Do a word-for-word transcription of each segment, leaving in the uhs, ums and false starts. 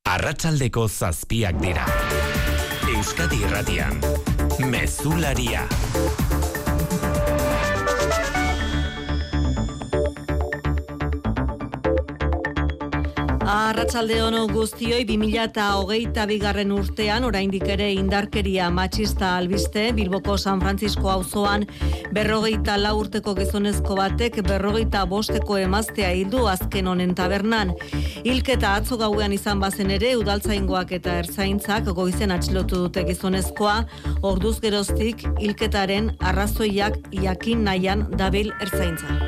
Arratsaldeko zazpiak dira. Euskadi Irratian, Mezularia. Arratsalde on guztioi, bi mila hogeita bigarren urtean oraindik ere indarkeria matxista albiste Bilboko San Francisco auzoan berrogeita lau urteko gizonezko batek berrogeita bosteko emaztea hildu azken honen tabernan. Hilketa atzo gauean izan bazen ere udaltzaingoak eta ertzaintzak goizen atxilotu dute gizonezkoa, orduz geroztik hilketaren arrazoiak jakin nahian dabil ertzaintza.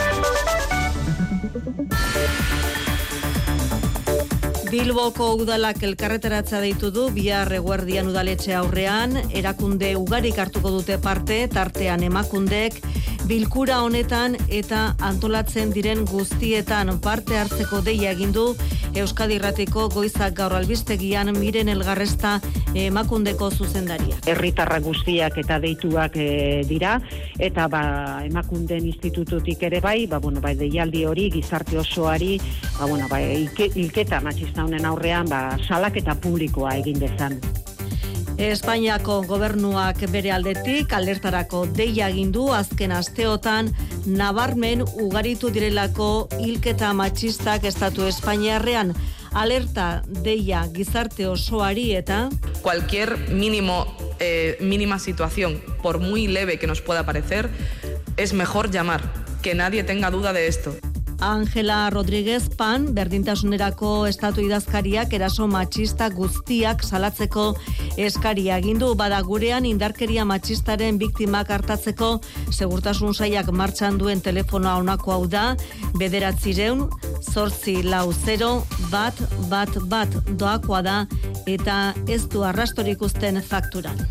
Bilboko udalak elkarretaratza deitu du bihar eguerdian udaletxe aurrean, erakunde ugarik hartuko dute parte, tartean emakundek, bilkura honetan eta antolatzen diren guztietan parte hartzeko deia egin du Euskadi Irratiko Goizak Gaur albistegian Miren Elgarresta emakundeko zuzendaria. Herritarrak guztiak eta deituak e, dira, eta ba, emakunden institututik ere bai, ba, bueno, bai, deialdi hori gizarte osoari, ba, bueno, bai, hilketa matxista honen aurrean ba, salaketa publikoa egin dezan. Espainiako gobernuak bere aldetik alertarako deia egin du azken asteotan nabarmen ugaritu direlako hilketa matxistak estatu espainiarrean. Alerta deia gizarte osoari eta cualquier mínimo eh, mínima situación, por muy leve que nos pueda parecer, es mejor llamar, que nadie tenga duda de esto. Ángela Rodríguez Pan, berdintasunerako estatu idazkariak eraso matxista guztiak salatzeko eskaria egin du, bada gurean indarkeria matxistaren biktimak hartatzeko segurtasun sailak martxan duen telefonoa honako hau da, bederatzireun, zortzi lau zero, bat, bat, bat doakoa da, eta ez du arrastorik uzten fakturan.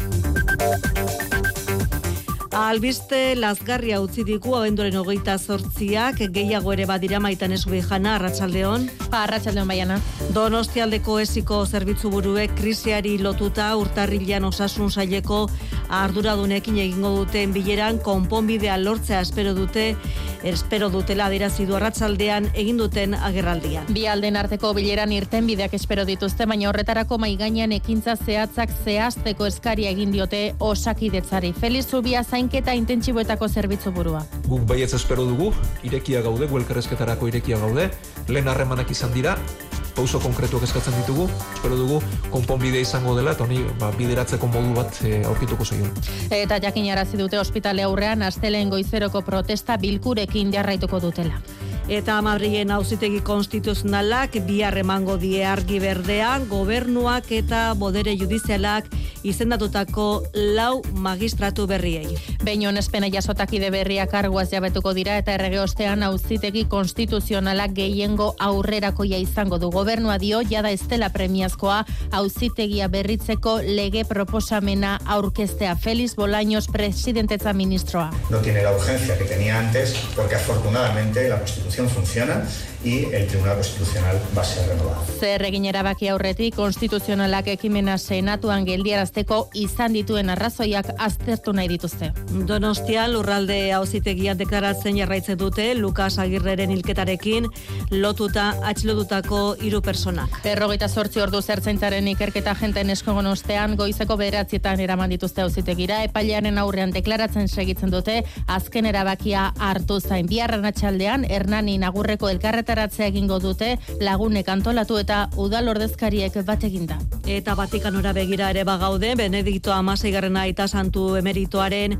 Albiste lazgarria utzi digu abenduaren hogeita zortziak, gehiago ere badira Maitan Esubijana, arratsaldeon. Arratsaldeon Baiana. Donostialdeko esiko zerbitzu buruek krisiari lotuta urtarrilean osasun saileko arduradunekin egingo duten bileran konponbidea lortzea espero dute, espero dutela adierazi du arratsaldean egin duten agerraldian. Bi alden arteko bileran irtenbideak espero dituzte, baina horretarako mahai gainean ekintza zehatzak zehazteko eskaria egin diote Osakidetzari. Feliz Zubia zainketa intentsiboetako zerbitzu burua. Guk baietz espero dugu, irekia gaude, elkarrizketarako irekia gaude, lehen harremanak izan dira, pauso konkretuak eskatzen ditugu, espero dugu konponbidea izango dela, eta honi ba, bideratzeko modu bat e, aurkituko zaio. Eta jakinarazi dute ospitale aurrean astelehen goizeroko protesta bilkurekin jarraituko dutela. Eta Madrilen auzitegi konstituzionalak bihar emango die argi berdean, gobernuak eta bodere judizialak izendatutako lau magistratu berriei. Behin onespena jasotakide berriak karguaz jabetuko dira eta errege ostean auzitegi konstituzionalak gehiengo aurrerakoia izango du. Gobernua dio jada ez dela premiazkoa auzitegia berritzeko lege proposamena aurkeztea. Félix Bolaños, presidentetza ministroa. No tiene la urgencia que tenía antes porque afortunadamente la Constitución funciona y el Tribunal Constitucional va a ser renovado. Zer egin erabaki aurretik konstituzionalak ekimena senatuan geldiarazteko izan dituen arrazoiak aztertu nahi dituzte. Donostian lurralde auzitegian deklaratzen jarraitzen dute Lukas Agirreren hilketarekin lotuta atxilotutako hiru personak. Berrogeita zortzi ordu ertzaintzaren ikerketa agenten eskogon ostean goizeko bederatzietan eraman dituzte auzitegira, epailearen aurrean deklaratzen segitzen dute azken erabakia hartu zain. Bihar arratsaldean Hernani Nagurreko elkarretaratzea egingo dute lagunek antolatu eta udal ordezkariek bat eginda. Eta Vatikanora begira ere bagaude, Benedikto hamaseigarrena aita santu emeritoaren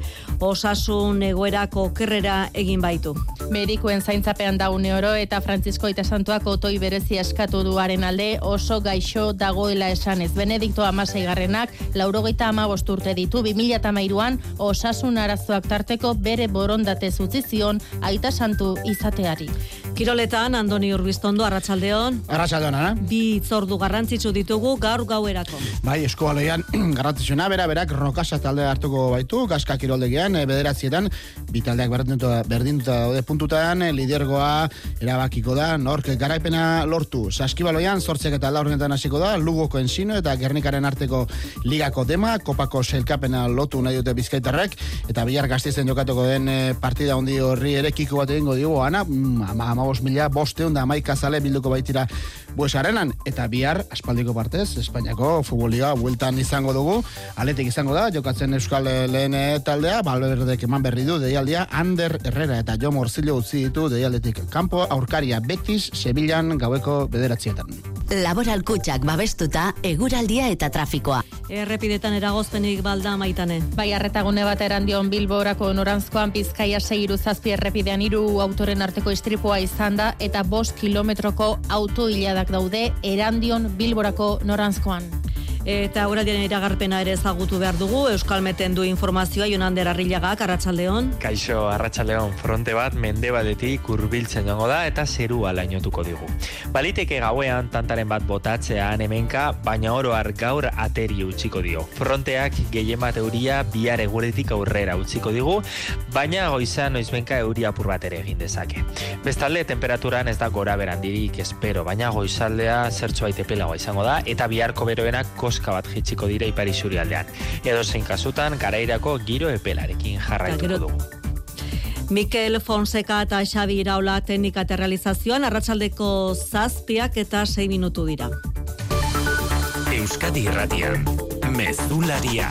osasun egoerako okerrera egin baitu. Medikuen zaintzapean da une oro eta Frantzisko aita santuak otoi berezia eskatu duaren alde oso gaixo dagoela esanez. Benedikto hamaseigarrenak laurogeita hamabost urte ditu, bi mila hamairuan osasun arazoak tarteko bere borondatez utzi zion aita santu izateari. Kiroletan, Andoni Urbiztondo, arratsaldeon. Arratsaldeon, ana? Bi hitzordu garrantzitsu ditugu gaur gauerako. Bai, eskualdean garrantzitsuena, bera, berak Rokasa talde hartuko baitu, Gaska kiroldegian, bederatzietan, bi taldeak berdinduta, berdinduta daude puntutan, lidergoa erabakiko da, nork garaipena lortu. Saskibaloian, zortziak eta laurdenetan hasiko da, Lugoko Ensino eta Gernikaren arteko ligako dema, kopako sailkapena lotu nahi dute bizkaitarrek, eta bihar Gasteizen jokatuko den partida handi horri ere kiko bat egingo digu, ana, ama hamabost mila bosteun da hamaika zale bilduko baitira Bues Arenan, eta bihar aspaldiko partez, Espainiako futboliga bueltan izango dugu, aletik izango da, jokatzen Euskal lehen taldea, Valverdek eman berri du deialdia, Ander Herrera eta Jo Morcillo utzi ditu deialdetik kanpo, aurkaria Betis, Sevillan gaueko bederatzietan. Laboral Kutxak babestuta, eguraldia eta trafikoa. Errepidetan eragozpenik balda Maitane. Bai, arretagune bat erandion Bilborako noranzkoan Bizkaia sei zazpi errepidean hiru autoren arteko istripua izan da eta bost kilometroko autoiladak daude erandion Bilborako noranzkoan. Eta aurraldiaren iragarpena ere ezagutu behar dugu, Euskalmeten du informazioa Jonander Arrillagak, Arratsaldeon. Kaixo, Arratsaldeon, fronte bat mendebaldetik hurbiltzen joango da eta zerua lainotuko digu. Baliteke gauean tantaren bat botatzean hemenka, baina oro har gaur ateri utziko dio. Fronteak gehien bat euria bihar eguretik aurrera utziko digu, baina goizan noizbenka euria apur bat ere egin dezake. Bestalde, temperaturan ez da gora berandirik espero, baina goizaldea zertxo baitepelagoa izango da, eta biharko beroenak koska bat jitsiko dira ipari zurialdean. Edo zein kasutan, garairako giro epelarekin jarraituko dugu. Mikel Fonseca eta Xabi Iraola teknika eta realizazioan, arratsaldeko zazpiak eta sei minutu dira. Euskadi Irratian, Mezularia.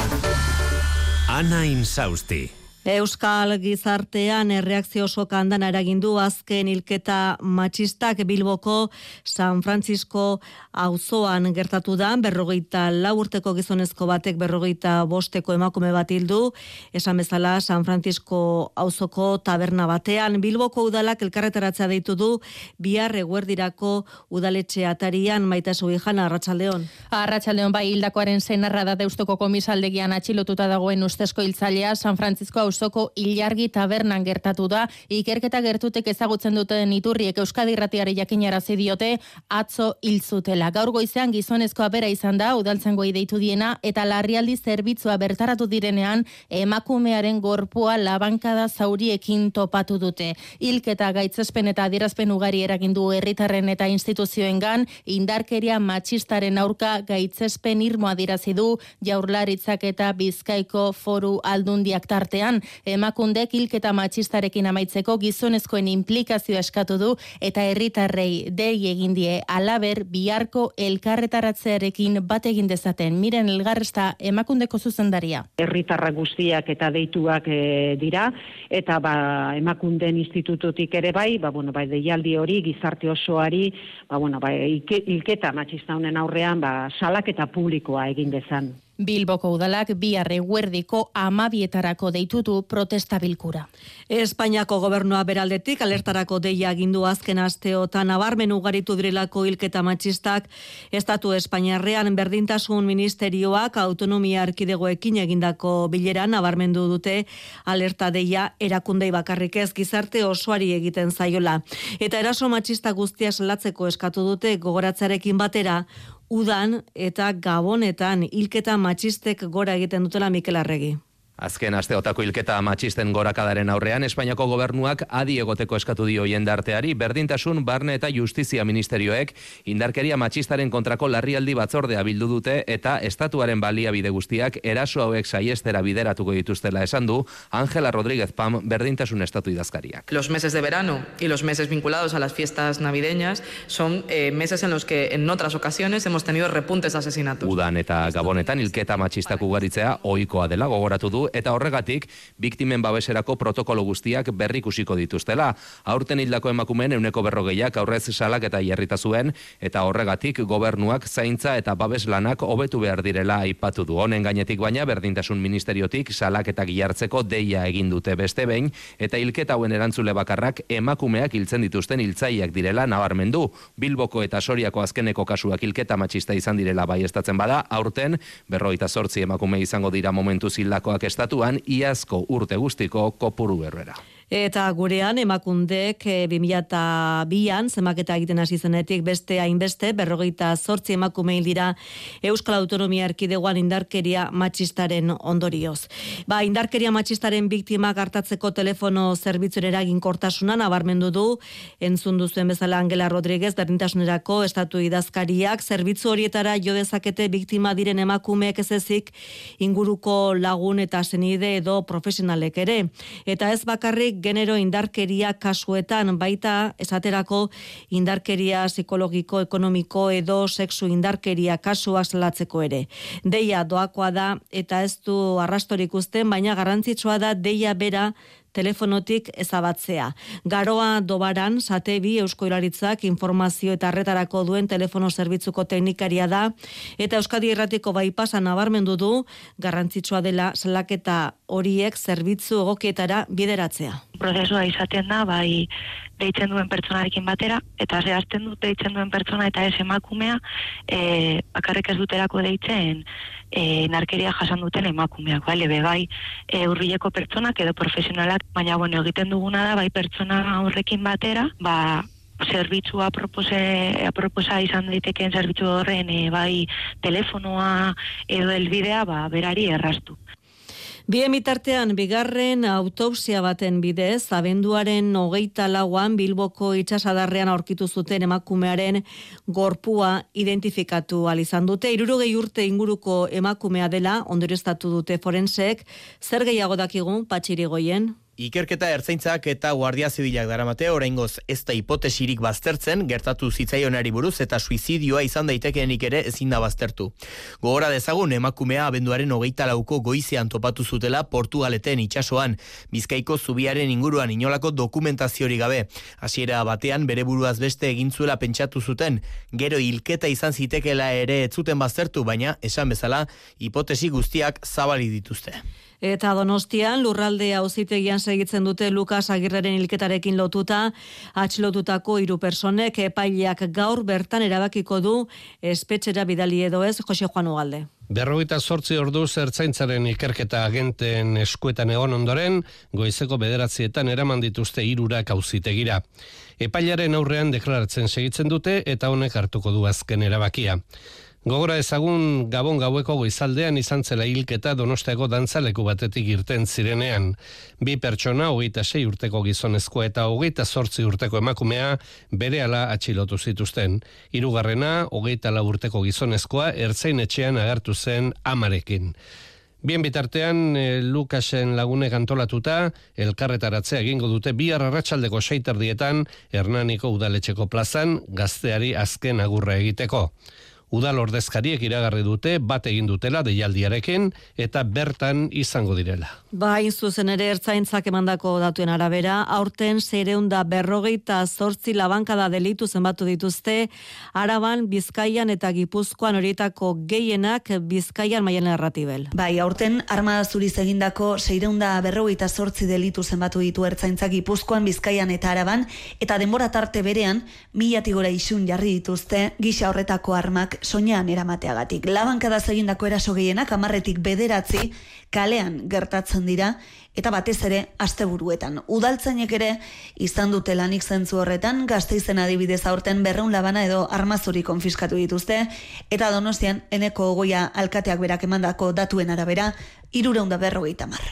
Ana Insausti. Euskal gizartean erreakzio oso kandana eragindu azken hilketa matxistak Bilboko San Francisco auzoan gertatu da, berrogeita lau urteko gizonezko batek berrogeita bosteko emakume bat hildu, esan bezala San Francisco auzoko taberna batean. Bilboko udalak elkarretaratzea deitu du bihar eguerdirako udaletxe atarian. Maite Subijana, Arratsaldeon. Arratsaldeon, bai, hildakoaren senarra da Deustuko komisaldegian atxilotuta dagoen ustezko hiltzailea San Francisco auzoko Ilargi tabernan gertatu da. Ikerketa gertutek ezagutzen duten iturriek Euskadi Irratiari jakinarazi diote atzo hil zutela. Gaur goizean gizonezkoa bera izan da, udaltzaingoei deitu diena, eta larrialdi zerbitzua bertaratu direnean emakumearen gorpua labankada zauriekin topatu dute. Hilketa gaitzespen eta adierazpen ugari eragindu herritarren eta instituzioengan, indarkeria matxistaren aurka gaitzespen irmoa adirazi du Jaurlaritzak eta Bizkaiko Foru Aldundiak tartean. Emakundek hilketa matxistarekin amaitzeko gizonezkoen implikazioa eskatu du eta herritarrei dei egin die halaber biharko elkarretaratzearekin bat egin dezaten. Miren Elgarresta, emakundeko zuzendaria. Herritarrak guztiak eta deituak e, dira, eta ba, emakunden institututik ere bai, ba, bueno, bai, deialdi hori, gizarte osoari, ba, bueno, bai, hilketa matxista honen aurrean, ba, salaketa publikoa egin dezan. Bilboko udalak bihar eguerdiko amabietarako deitutu protesta bilkura. Espainiako gobernua beraldetik alertarako deia agindu azken asteotan nabarmen ugaritu direlako hilketa matxistak. Estatu Espainiarrean berdintasun ministerioak autonomia erkidegoekin egindako bileran nabarmendu dute alerta deia erakundei bakarrik ez gizarte osoari egiten zaiola. Eta eraso matxista guztia salatzeko eskatu dute gogoratzarekin batera udan eta gabonetan hilketa matxistek gora egiten dutela Mikel Arregi. Azken asteotako hilketa matxisten gorakadaren aurrean, Espainiako gobernuak adi egoteko eskatu dio jendarteari, berdintasun, barne eta justizia ministerioek indarkeria matxistaren kontrako larrialdi batzordea bildu dute eta estatuaren baliabide guztiak eraso hauek saiestera bideratuko dituztela esan du Ángela Rodríguez Pam, berdintasun estatu idazkariak. Los meses de verano y los meses vinculados a las fiestas navideñas son eh, meses en los que en otras ocasiones hemos tenido repuntes de asesinatos. Udan eta gabonetan hilketa matxistak ugaritzea ohikoa dela gogoratu du eta horregatik biktimen babeserako protokolo guztiak berrikusiko dituztela. Aurten hildako emakumeen ehuneko berrogeiak aurrez salak eta jarrita zuen eta horregatik gobernuak zaintza eta babes lanak hobetu behar direla aipatu du. Honen gainetik baina berdintasun ministeriotik salak eta gihartzeko deia egin dute beste behin eta hilketa hauen erantzule bakarrak emakumeak hiltzen dituzten hiltzaileak direla nabarmendu. Bilboko eta Soriako azkeneko kasuak hilketa matxista izan direla baieztatzen bada, aurten berrogeita zortzi emakume izango dira momentuz hildakoak estatuan iazko urte guztiko kopuru berbera. Eta gurean emakundek bi mila bian zemaketa egiten hasi zenetik beste hainbeste berrogeita zortzi emakume hil dira Euskal Autonomia Erkidegoan indarkeria matxistaren ondorioz. Ba, indarkeria matxistaren biktimak hartatzeko telefono zerbitzuren eraginkortasuna nabarmendu du, entzun duzuen bezala Ángela Rodríguez berdintasunerako estatu idazkariak, zerbitzu horietara jo dezakete biktima diren emakumeek ez ezik inguruko lagun eta senide edo profesionalek ere. Eta ez bakarrik genero indarkeria kasuetan, baita esaterako indarkeria psikologiko, ekonomiko edo sexu indarkeria kasuak salatzeko ere. Deia doakoa da eta ez du arrastorik uzten, baina garrantzitsua da deia bera telefonotik ezabatzea. Garoa Dobaran, Satebi Eusko Jaurlaritzak informazio eta arretarako duen telefono zerbitzuko teknikaria da, eta Euskadi Irratiko Baipasa nabarmendu du garrantzitsua dela salaketa horiek zerbitzu egokietara bideratzea. Prozesua izaten da, bai deitzen duen pertsonarekin batera, eta zehazten dut deitzen duen pertsona eta ez emakumea, e, bakarrik ez duterako deitzen e, narkeria jasan duten emakumeak, bale, bebai e, urbileko pertsonak edo profesionalak, baina bueno, egiten duguna da, bai pertsona horrekin batera, ba, zerbitzua apropose, aproposa izan daitekeen zerbitzu horren, e, bai telefonoa edo helbidea, ba, berari erraztu. Bien bitartean, bigarren autopsia baten bidez, abenduaren hogeita lauan Bilboko itsasadarrean aurkitu zuten emakumearen gorpua identifikatu ahal izan dute. Hirurogei urte inguruko emakumea dela, ondorioztatu dute forensek. Zer gehiago dakigun, Patxirigoien? Ikerketa ertzaintzak eta guardia zibilak daramate, oraingoz ez da hipotesirik baztertzen, gertatu zitzaionari buruz eta suizidioa izan daitekeenik ere ezin da baztertu. Gogora dezagun, emakumea abenduaren hogeita lauko goizean topatu zutela Portugaleten itsasoan, Bizkaiko zubiaren inguruan inolako dokumentaziorik gabe. Hasiera batean bere buruaz beste egin zuela pentsatu zuten, gero hilketa izan zitekeela ere ez zuten baztertu, baina esan bezala hipotesi guztiak zabali dituzte. Eta Donostian, lurralde auzitegian segitzen dute Lukas Agirreren hilketarekin lotuta, atxilotutako hiru personek epaileak gaur bertan erabakiko du espetxera bidali edo ez, Jose Juan Ugalde. Berrogeita zortzi orduz ertzaintzaren ikerketa agenteen eskuetan egon ondoren, goizeko bederatzietan eraman dituzte hirurak auzitegira. Epailaren aurrean deklaratzen segitzen dute eta honek hartuko du azken erabakia. Gogora ezagun Gabon gaueko goizaldean izan zela hilketa Donostiako dantzaleku batetik irten zirenean. Bi pertsona, hogeita sei urteko gizonezkoa eta hogeita zortzi urteko emakumea berehala atxilotu zituzten. Hirugarrena, hogeita lau urteko gizonezkoa ertzain etxean agertu zen amarekin. Bien bitartean, e, Lukasen lagunek antolatuta, elkarretaratzea egingo dute bihar arratsaldeko seiterdietan Hernaniko udaletxeko plazan gazteari azken agurra egiteko. Udal ordezkariek iragarri dute bat egin dutela deialdiarekin eta bertan izango direla. Ba, zuzen ere ertzaintzak emandako datuen arabera, aurten seiehun eta berrogeita zortzi labankada delitu zenbatu dituzte, Araban, Bizkaian eta Gipuzkoan, horietako gehienak Bizkaian Maialen Erratibel. Bai, aurten armada zuriz egindako seiehun eta berrogeita zortzi delitu zenbatu ditu ertzaintzak Gipuzkoan, Bizkaian eta Araban, eta denbora tarte berean milatik gora isun jarri dituzte gisa horretako armak soinean eramateagatik. Labankada egindako eraso gehienak hamarretik bederatzi kalean gertatzen dira, eta batez ere asteburuetan. Udaltzainek ere izan dute lanik zentzu horretan, Gasteizen adibidez aurten berrehun labana edo armazuri konfiskatu dituzte, eta Donostian Eneko Ogoia alkateak berak emandako datuen arabera, hirurehun eta berrogeita hamar.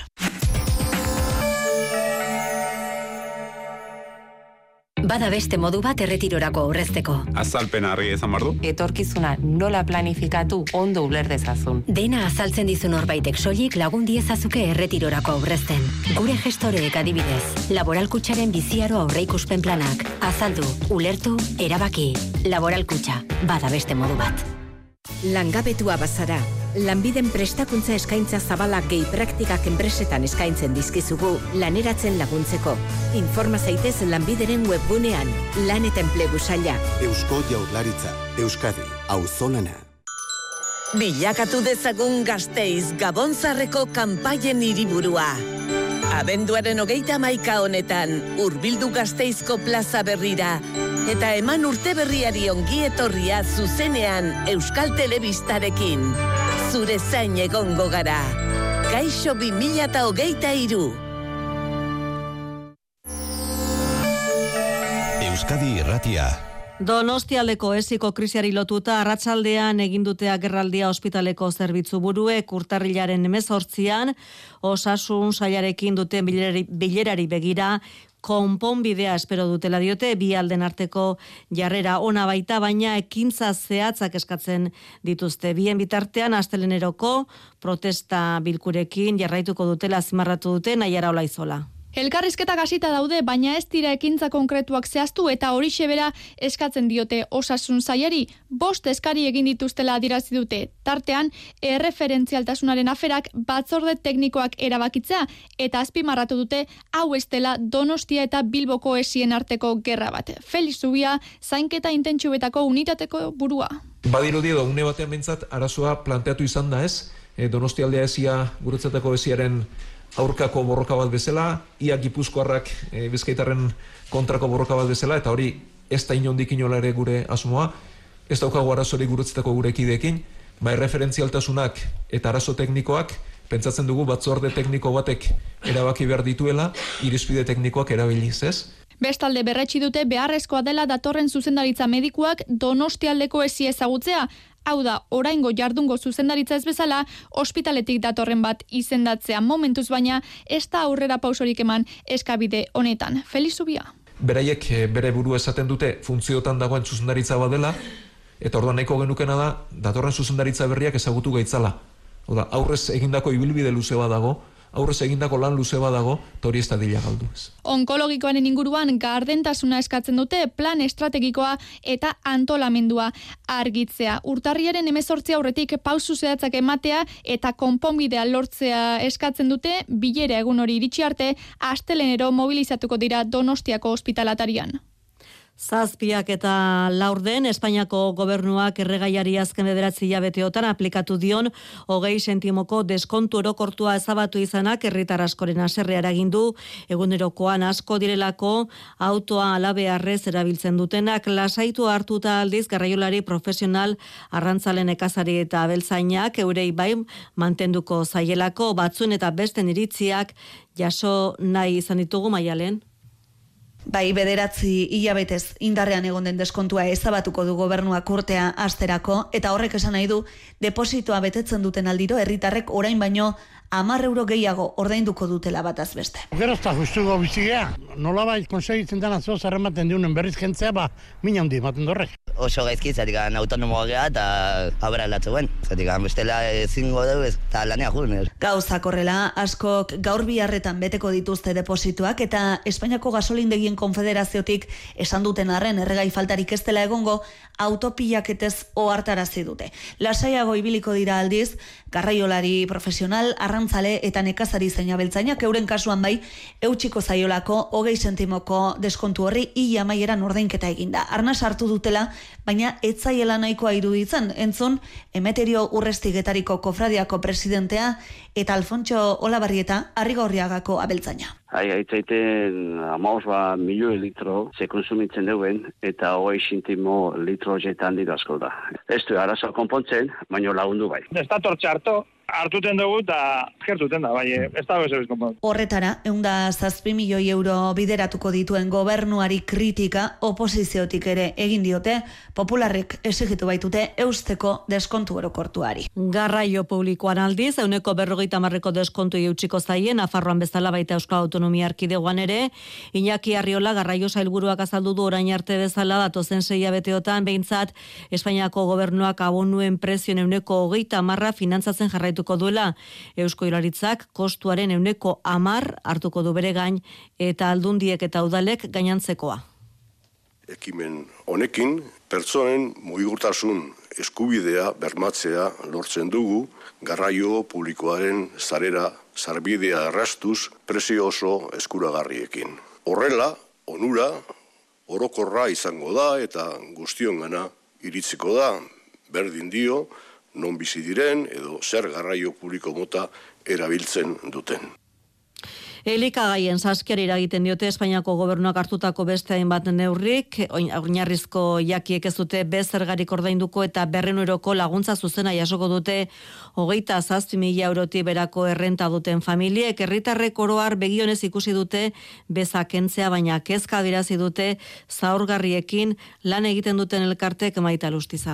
Bada beste modu bat erretirorako aurrezteko. Azalpena argi ezan bardu. Etorkizuna nola planifikatu ondo uler dezazun. Dena azaltzen dizu norbaitek soilik lagun diezazuke erretirorako aurrezten. Gure gestoreek adibidez, Laboralkutxaren biziaro aurreikuspen planak. Azaldu, ulertu, erabaki. Laboralkutxa, bada beste modu bat. Langabetua bazara, lanbiden prestakuntza eskaintza zabalak gehi praktikak enpresetan eskaintzen dizkizugu laneratzen laguntzeko. Informa zaitez lanbideren webgunean, lan eta enplegu saila. Eusko Jaurlaritza, Euskadi, auzolana. Bilakatu dezagun Gasteiz Gabonzarreko kanpaien hiriburua. Abenduaren hogeita hamaika honetan, hurbildu Gasteizko plaza berrira, eta eman urte berriari ongi etorria zuzenean Euskal Telebistarekin. Zure zain egongo gara. Kaixo bi mila hogeita hiru. Euskadi Irratia. Donostialdeko esiko krisiari lotuta arratsaldean egin dute agerraldia ospitaleko zerbitzu buruek urtarrilaren hemezortzian osasun sailarekin duten bilerari, bilerari begira konponbidea espero dutela diote, bi alden arteko jarrera ona baita, baina ekintza zehatzak eskatzen dituzte. Bien bitartean asteleneroko protesta bilkurekin jarraituko dutela azpimarratu dute Naiara Olaizola. Elkarrizketak hasita daude, baina ez dira ekintza konkretuak zehaztu eta horixe bera eskatzen diote osasun sailari. Bost eskari egin dituztela adierazi dute. Tartean, erreferentzialtasunaren aferak batzorde teknikoak erabakitzea eta azpimarratu dute hau ez dela Donostia eta Bilboko esien arteko gerra bat. Felix Zubia, zainketa intentsubetako unitateko burua. Badirudi edo une batean behintzat arazoa planteatu izan da ez, e, Donostialdea esia, guretzetako esiaren aurkako borroka bat bezala, ia Gipuzkoarrak e, Bizkaitarren kontrako borroka bat bezala, eta hori ez da inondik inola ere gure asmoa, ez daukagu arazori guretzetako gure ekideekin, bai referentzialtasunak eta arazo teknikoak, pentsatzen dugu batzorde tekniko batek erabaki behar dituela, irizpide teknikoak erabiliz, ez? Bestalde berretsi dute beharrezkoa dela datorren zuzendaritza medikuak Donostialdeko esi ezagutzea. Hau da, oraingo jardungo zuzendaritza ez bezala, ospitaletik datorren bat izendatzea momentuz baina, ez da aurrera pausorik eman eskabide honetan. Felix Zubia. Beraiek bere buru esaten dute funtziotan dagoen zuzendaritza badela, eta orduan nahiko genukena da, datorren zuzendaritza berriak ezagutu gaitzala. Oda, aurrez egindako ibilbide luze badago, aurrez egindako lan luze badago, hori ez da dila galdu ez. Onkologikoaren inguruan gardentasuna eskatzen dute plan estrategikoa eta antolamendua argitzea. Urtarriaren hemezortzi aurretik pausu zehatzak ematea eta konponbidea lortzea eskatzen dute, bilera egun hori iritsi arte, astelenero mobilizatuko dira Donostiako ospitalatarian. Zazpiak eta laurden, Espainiako gobernuak erregaiari azken bederatzi hilabeteotan aplikatu dion hogei sentimoko deskontu orokortua ezabatu izanak herritar askoren haserrea eragin du, egunerokoan asko direlako autoa alabearrez erabiltzen dutenak lasaitu hartuta aldiz garraiolari profesional arrantzalen nekazari eta abeltzainak eurei bai mantenduko zaielako batzuen eta besten iritziak jaso nahi izan ditugu Maialen. Bai, bederatzi hilabetez indarrean egon den deskontua ezabatuko du gobernuak urtea asterako, eta horrek esan nahi du depositoa betetzen duten aldiro herritarrek orain baino hamar euro gehiago ordainduko dutela bataz beste. Gero ez da justuko bizigea, nolabait konsegitzen dena zoz errematen diunen berriz jentzea, ba, mina handi ematen dorrek. Oso gaizki, zatik autonomoa geha eta abera latzeuen, zatik bestela ezingo dugu eta lanea juen. Gauzak horrela, askok gaur biharretan beteko dituzte deposituak eta Espainiako gasolindegien konfederaziotik esan duten arren erregai faltarik ez dela egongo autopilaketez ohartarazi dute. Lasaiago ibiliko dira aldiz, garraiolari profesional, arrantzale eta nekazari zein abeltzainak euren kasuan bai, eutxiko zaiolako hogei sentimoko deskontu horri ia amaieran ordainketa eginda. Arnas hartu dutela, baina ez zaiela nahikoa iruditzen, entzun, Emeterio Urrestigetariko kofradiako presidentea eta Alfontxo Olabarrieta Arrigorriagako abeltzaina. Hai, haitzaiten amaos ba milioi litro ze konsumitzen duen eta hogei sentimo litro jetan dira asko da. Ez du arazoa konpontzen, baina lagundu bai. Ez da tortxe harto, hartuten dugu eta gertuten da, bai, ez da bezo bizkonpon. Horretara, eunda zazpi milioi euro bideratuko dituen gobernuari kritika oposiziotik ere egin diote, popularrek exigitu baitute eusteko deskontu orokortuari. Garraio publikoan aldiz, euneko berrogeita marreko deskontu eutxiko zaien, Nafarroan bezala baita Euskal Autonomia Erkidegoan ere, Iñaki Arriola garraio sailburuak azaldu du orain arte bezala datozen sei hilabeteotan behintzat Espainiako gobernuak abonuen prezioen euneko hogeita marra finantzatzen jarraituko duela. Eusko Jaurlaritzak kostuaren euneko hamar hartuko du bere gain eta aldundiek eta udalek gainantzekoa. Ekimen honekin pertsonen mugurtasun eskubidea bermatzea lortzen dugu garraio publikoaren sarera sarbidea errastuz prezio oso eskuragarriekin. Horrela, onura orokorra izango da eta guztiongana iritziko da, berdin dio, non bizi diren edo zer garraio publiko mota erabiltzen duten. Elikagaien saskiari eragiten diote Espainiako gobernuak hartutako beste hainbat neurrik, oinarrizko jakiek ez dute bezergarik ordainduko eta berrehun euroko laguntza zuzena jasoko dute hogeita zazpi mila eurotik berako errenta duten familiek. Herritarrek oro har begionez ikusi dute bezakentzea, baina kezka adierazi dute zaurgarriekin lan egiten duten elkartek Maita Lustiza.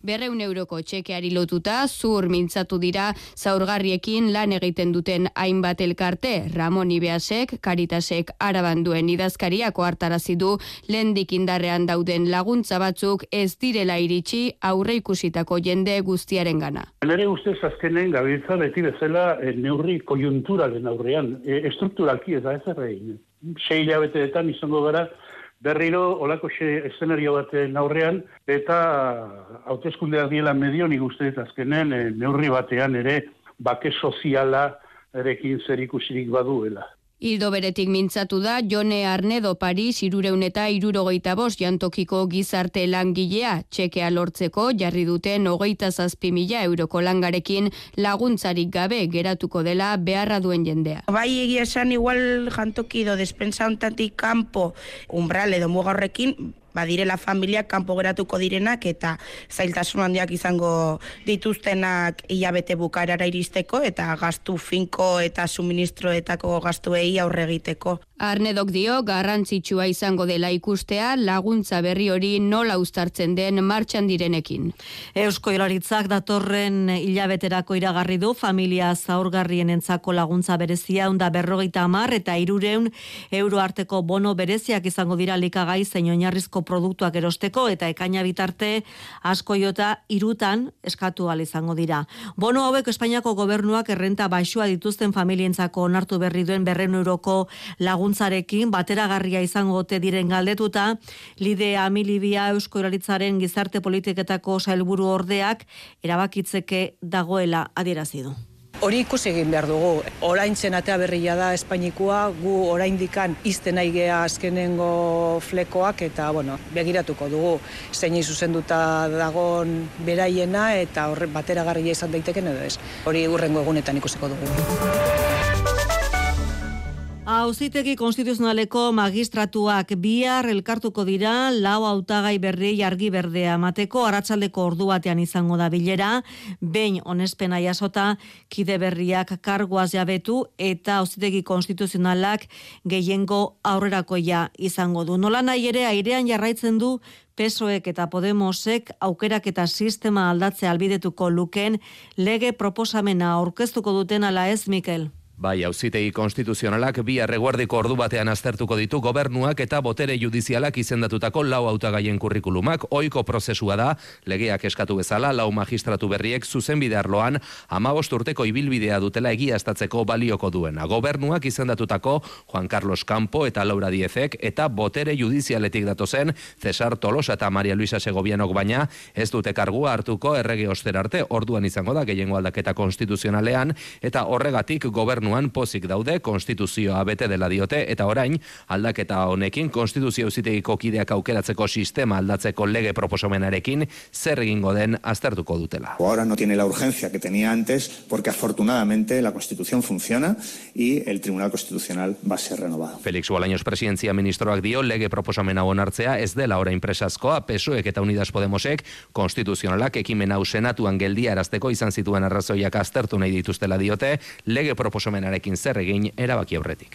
berreun euroko txekeari lotuta, zur mintzatu dira zaurgarriekin lan egiten duten hainbat elkarte. Ramon Ibeasek, Caritasek Araban duen idazkariak ohartarazi du lehendik indarrean dauden laguntza batzuk ez direla iritsi aurre ikusitako jende guztiaren gana. Nere ustez azkenen gabiltza beti bezala e, neurri konjunturalen aurrean, e, estrukturalki ez da ez errein. Sei hilabeteetan izango gara berriro olako eszenario baten aurrean, eta hauteskundeak diela medio nik uste azkenen e, neurri batean ere bake soziala erekin zer ikusirik baduela. Hildo beretik mintzatu da Jone Arnedo Paris hirureun eta hirurogeita bost jantokiko gizarte langilea, txekea lortzeko jarri duten hogeita zazpi mila euroko langarekin laguntzarik gabe geratuko dela beharra duen jendea. Bai egia esan igual jantoki do despensa hontatik kanpo umbral edo muga horrekin badirela familiak kanpo geratuko direnak eta zailtasun handiak izango dituztenak hilabete bukaerara iristeko eta gastu finko eta suministroetako gastuei aurre egiteko. Arnedok dio garrantzitsua izango dela ikustea laguntza berri hori nola uztartzen den martxan direnekin. Eusko Jaurlaritzak datorren hilabeterako iragarri du familia zaurgarrienentzako laguntza berezia ehun eta berrogeita hamar eta hirurehun euro arteko bono bereziak izango dira likagai zein oinarrizko produktuak erosteko eta ekaina bitarte asko jota hirutan eskatu ahal izango dira. Bono hauek Espainiako gobernuak errenta baxua dituzten familientzako onartu berri duen berrehun euroko laguntzarekin bateragarria izango ote diren galdetuta, Lide Amilibia Eusko Jaurlaritzaren gizarte politiketako sailburu ordeak erabakitzeke dagoela adierazi du. Hori ikusi egin behar dugu. Oraintzen atea berria da Espainikoa, gu oraindikan izten nahi gea azkenengo flekoak eta bueno, begiratuko dugu zein zuzenduta dagon beraiena eta horre bateragarria izan daiteken edo ez. Hori hurrengo egunetan ikusiko dugu. Auzitegi konstituzionaleko magistratuak bihar elkartuko dira lau hautagai berri argi berdea emateko arratsaldeko ordu batean izango da bilera, behin onespena jasota kide berriak karguaz jabetu eta Auzitegi konstituzionalak gehiengo aurrerakoia izango du. Nola nahi ere airean jarraitzen du P S O Ek eta Podemosek aukerak eta sistema aldatzea albidetuko luken lege proposamena aurkeztuko duten ala ez, Mikel? Bai, Auzitegi konstituzionalak bihar eguerdiko ordu batean aztertuko ditu gobernuak eta botere judizialak izendatutako lau hautagaien kurrikulumak. Ohiko prozesua da, legeak eskatu bezala, lau magistratu berriek zuzenbide arloan hamabost urteko ibilbidea dutela egiaztatzeko balioko duena. Gobernuak izendatutako Juan Carlos Campo eta Laura Diezek eta botere judizialetik datozen Cesar Tolosa eta Maria Luisa Segovianok baina ez dute kargua hartuko errege osterarte, orduan izango da gehiengo aldaketa konstituzionalean eta horregatik gobernu pozik daude, konstituzioa bete dela diote, eta orain, aldaketa honekin, konstituzio auzitegiko kideak aukeratzeko sistema aldatzeko lege proposomenarekin zer egingo den aztertuko dutela. Ahora no tiene la urgencia que tenía antes, porque afortunadamente la Constitución funciona y el Tribunal Constitucional va a ser renovado. Felix Bolaños presidentzia ministroak dio lege proposomena onartzea ez dela orain presazkoa, P S O Ek eta Unidas Podemosek konstituzionalak ekimen hau senatuan geldia erazteko izan zituen arrazoiak aztertu nahi dituztela diote, lege proposomen arekin zer egin erabaki aurretik.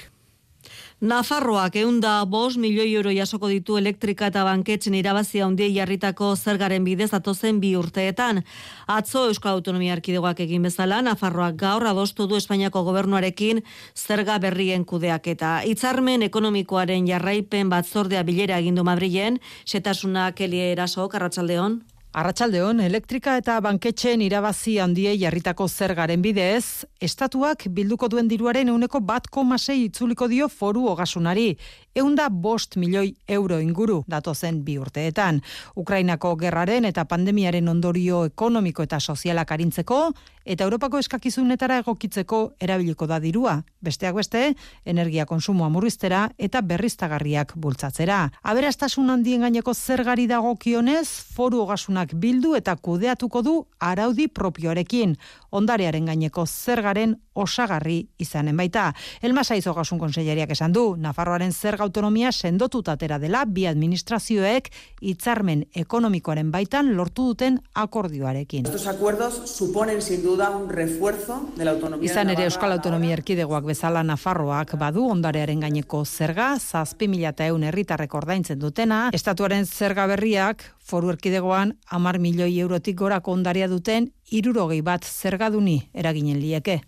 Nafarroak eunda bost milioi euro jasoko ditu elektrika eta banketzen irabazia handiei jarritako zergaren bidez datozen bi urteetan. Atzo Euskal Autonomia Erkidegoak egin bezala, Nafarroak gaur adostu du Espainiako gobernuarekin zerga berrien kudeaketa. Hitzarmen ekonomikoaren jarraipen batzordea bilera egin du Madrilen, xetasuna Kelie Erasok, arratsaldeon. Arratsaldeon, elektrika eta banketxeen irabazi handiei jarritako zergaren bidez, estatuak bilduko duen diruaren ehuneko bat koma sei itzuliko dio foru ogasunari, eunda bost milioi euro inguru datozen bi urteetan. Ukrainako gerraren eta pandemiaren ondorio ekonomiko eta sozialak arintzeko, eta Europako eskakizunetara egokitzeko erabiliko da dirua. Besteak beste, energia konsumoa murriztera eta berriztagarriak bultzatzera. Aberastasun handien gaineko zergari dagokionez, foru ogasunak bildu eta kudeatuko du araudi propioarekin, ondarearen gaineko zergaren osagarri izanen baita. Elma Saiz Ogasun Kontseilariak esan du, Nafarroaren zerga autonomia sendotuta atera dela bi administrazioek hitzarmen ekonomikoaren baitan lortu duten akordioarekin. Estos acuerdos suponen sin duda un refuerzo de la autonomía. Izan ere Euskal Autonomia Erkidegoak bezala Nafarroak badu ondarearen gaineko zerga, zazpi mila ehun herritarrek ordaintzen dutena, estatuaren zerga berriak Foru Erkidegoan hamar milioi eurotik gorako ondarea duten hirurogei bat zergaduni eraginen lieke.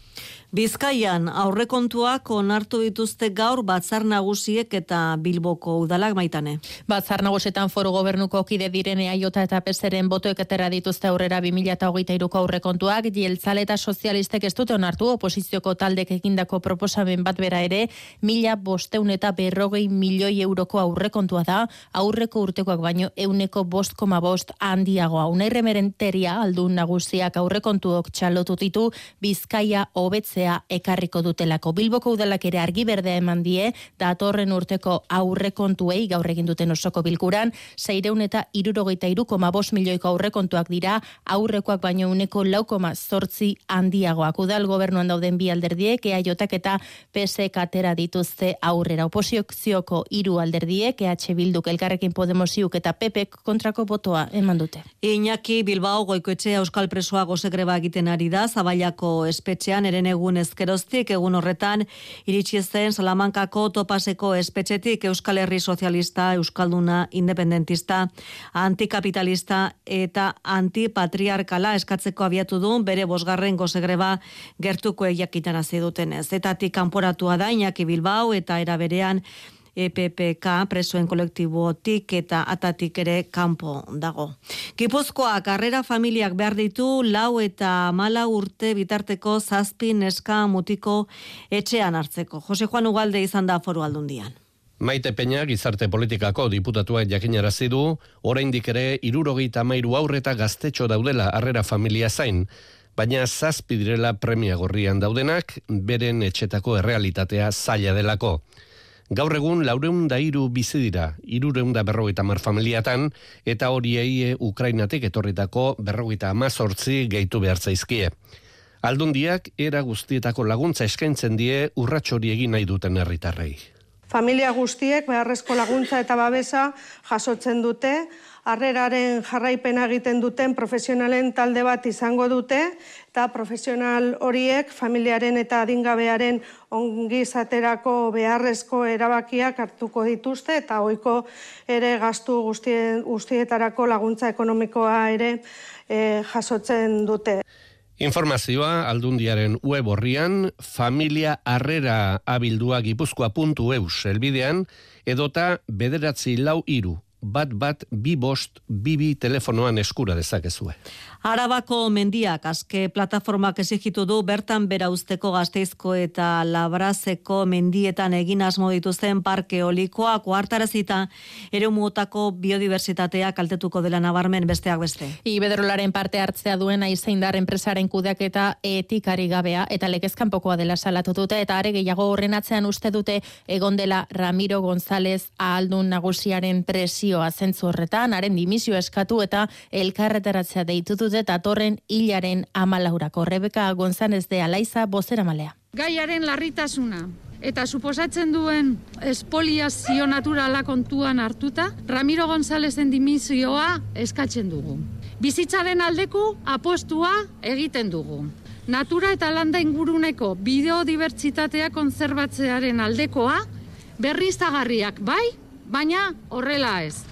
Bizkaian aurrekontuak onartu dituzte gaur Batzar Nagusiek eta Bilboko udalak, Maitane. Batzar Nagusietan Foru Gobernuko kide diren E A J eta P S ren botoek atera dituzte aurrera bi mila hogeita hiruko aurrekontuak, jeltzale eta sozialistek ez dute onartu oposizioko taldek egindako proposamen bat bera ere, mila bosteun eta berrogei milioi euroko aurrekontua da, aurreko urtekoak baino euneko bost koma bost handiagoa. Unai Remerenteria aldun nagusiak aurrekontuok txalotu ditu Bizkaia hobetzea ekarriko dutelako. Bilboko udalak ere argi berdea eman die, datorren urteko aurrekontuei gaur egin duten osoko bilkuran, seiehun eta hirurogeita hiru koma bost milioiko aurrekontuak dira, aurrekoak baino uneko lau koma zortzi handiagoak. Udal gobernuan dauden bi alderdiek, E A Jak eta P S ek atera dituzte aurrera. Oposizioko hiru alderdiek, E H Bilduk, Elkarrekin Podemosiuk eta P Pek kontrako botoa eman dute. Iñaki Bilbao Goikoetxea euskal presoa gozegreba egiten ari da, Zaballako espetxean eren egun ezkeroztik, egun horretan iritsi zen Salamankako Topaseko espetxetik Euskal Herri Sozialista, Euskalduna, Independentista, Antikapitalista eta Antipatriarkala eskatzeko abiatu du bere bosgarren gozegreba gertuko jakitarazi dutenez. Etatik kanporatua da Iñaki Bilbao eta era berean E P P K presoen kolektibotik eta atatik ere kanpo dago. Gipuzkoak harrera familiak behar ditu lau eta mala urte bitarteko zazpi neska mutiko etxean hartzeko. Jose Juan Ugalde izan da Foru Aldundian. Maite Peña gizarte politikako diputatuak jakinarazi du, oraindik ere hirurogeita hamairu haur eta gaztetxo daudela harrera familia zain, baina zazpi direla premia gorrian daudenak, beren etxetako errealitatea zaila delako. Gaur egun laureun da hiru bizi dira, hirureun da berrogeita hamar familiatan, eta horiei Ukrainatik etorritako berrogeita hamazortzi gehitu behar zaizkie. Aldundiak era guztietako laguntza eskaintzen die urrats hori egin nahi duten herritarrei. Familia guztiek beharrezko laguntza eta babesa jasotzen dute, harreraren jarraipena egiten duten profesionalen talde bat izango dute, eta profesional horiek familiaren eta adingabearen ongizaterako beharrezko erabakiak hartuko dituzte, eta ohiko ere gastu guztien, guztietarako laguntza ekonomikoa ere e, jasotzen dute. Informazioa Aldundiaren web orrian, familia harrera abildua gipuzkoa puntu eus elbidean, edota bederatzi lau hiru, bat bat bi bost bibi telefonoan eskura dezakezue. Arabako mendiak azke plataformak exigitu du bertan bera usteko Gasteizko eta Labrazeko mendietan egin asmo dituzten parke eolikoa koartarazita eremutako biodiversitatea kaltetuko dela nabarmen besteak beste. Iberdrolaren parte hartzea duen Aizeindar enpresaren kudeaketa etikari gabea eta legezkanpokoa dela salatu dute eta are gehiago horren atzean uste dute egon dela Ramiro González ahaldun nagusiaren presioa zentzu horretan, haren dimisio eskatu eta elkarretaratzea deitu dute eta torren hilaren amalaurako. Rebeka González de Alaiza bozeramalea. Gaiaren larritasuna eta suposatzen duen espoliazio naturala kontuan hartuta, Ramiro Gonzálezen dimisioa eskatzen dugu. Bizitzaren aldeko apostua egiten dugu. Natura eta landa inguruneko biodibertsitatea konzerbatzearen aldekoa, berriztagarriak bai, baina horrela ez.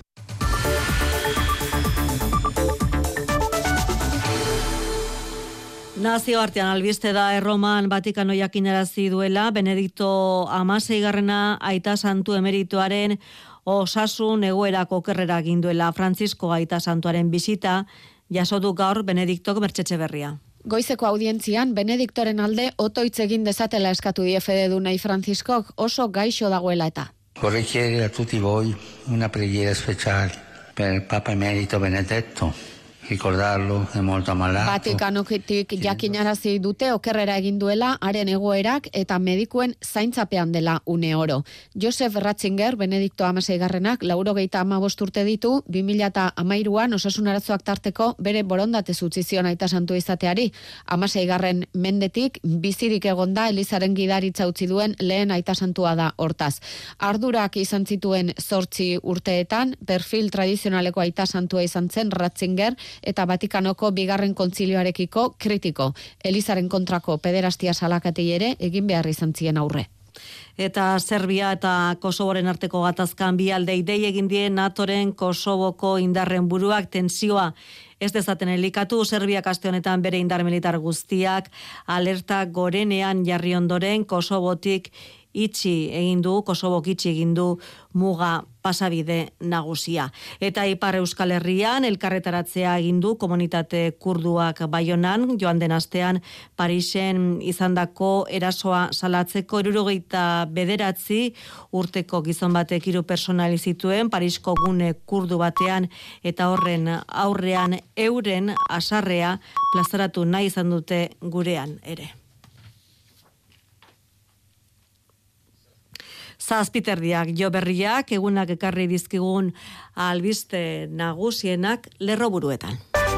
Nazioartean albiste da Erroman Vatikano jakinarazi duela Benedikto hamaseigarrena aita santu emeritoaren osasun egoerako okerrera egin duela. Francisco aita santuaren bisita jaso du gaur Benediktok Mertxetxe berria. Goizeko audientzian Benediktoren alde otoitz egin dezatela eskatu die fededunai Franciscok oso gaixo dagoela eta. Vorrei chiedere a tutti voi una preghiera speciale per il Papa Emerito Benedetto ricordarlo, è molto ammalato. Vatikanotik jakinarazi dute okerrera egin duela haren egoerak eta medikuen zaintzapean dela une oro. Josef Ratzinger, Benedikto hamaseigarrenak, laurogeita hamabost urte ditu, bi mila hamairuan osasun arazoak tarteko bere borondatez utzi zion aita santu izateari. hamaseigarren mendetik bizirik egonda Elizaren gidaritza utzi duen lehen aita santua da hortaz. Ardurak izan zituen zortzi urteetan, perfil tradizionaleko aita santua izan zen Ratzinger, eta Vatikanoko bigarren kontzilioarekiko kritiko. Elizaren kontrako pederastia salakatei ere egin behar izan zien aurre. Eta Serbia eta Kosovoren arteko gatazkan bi aldei dei egin die NATOren Kosovoko indarren buruak tensioa ez dezaten elikatu. Serbiak aste honetan bere indar militar guztiak alerta gorenean jarri ondoren Kosovotik itxi egin du, Kosovok itxi egin du muga pasabide nagusia. Eta Ipar Euskal Herrian elkarretaratzea egin du komunitate kurduak Baionan, joan den astean Parisen izandako erasoa salatzeko hirurogeita bederatzi urteko gizon batek hiru pertsonal zituen Parisko gune kurdu batean, eta horren aurrean euren asarrea plazaratu nahi izan dute gurean ere. Zazpiterdiak jo berriak, egunak ekarri dizkigun albiste nagusienak lerroburuetan.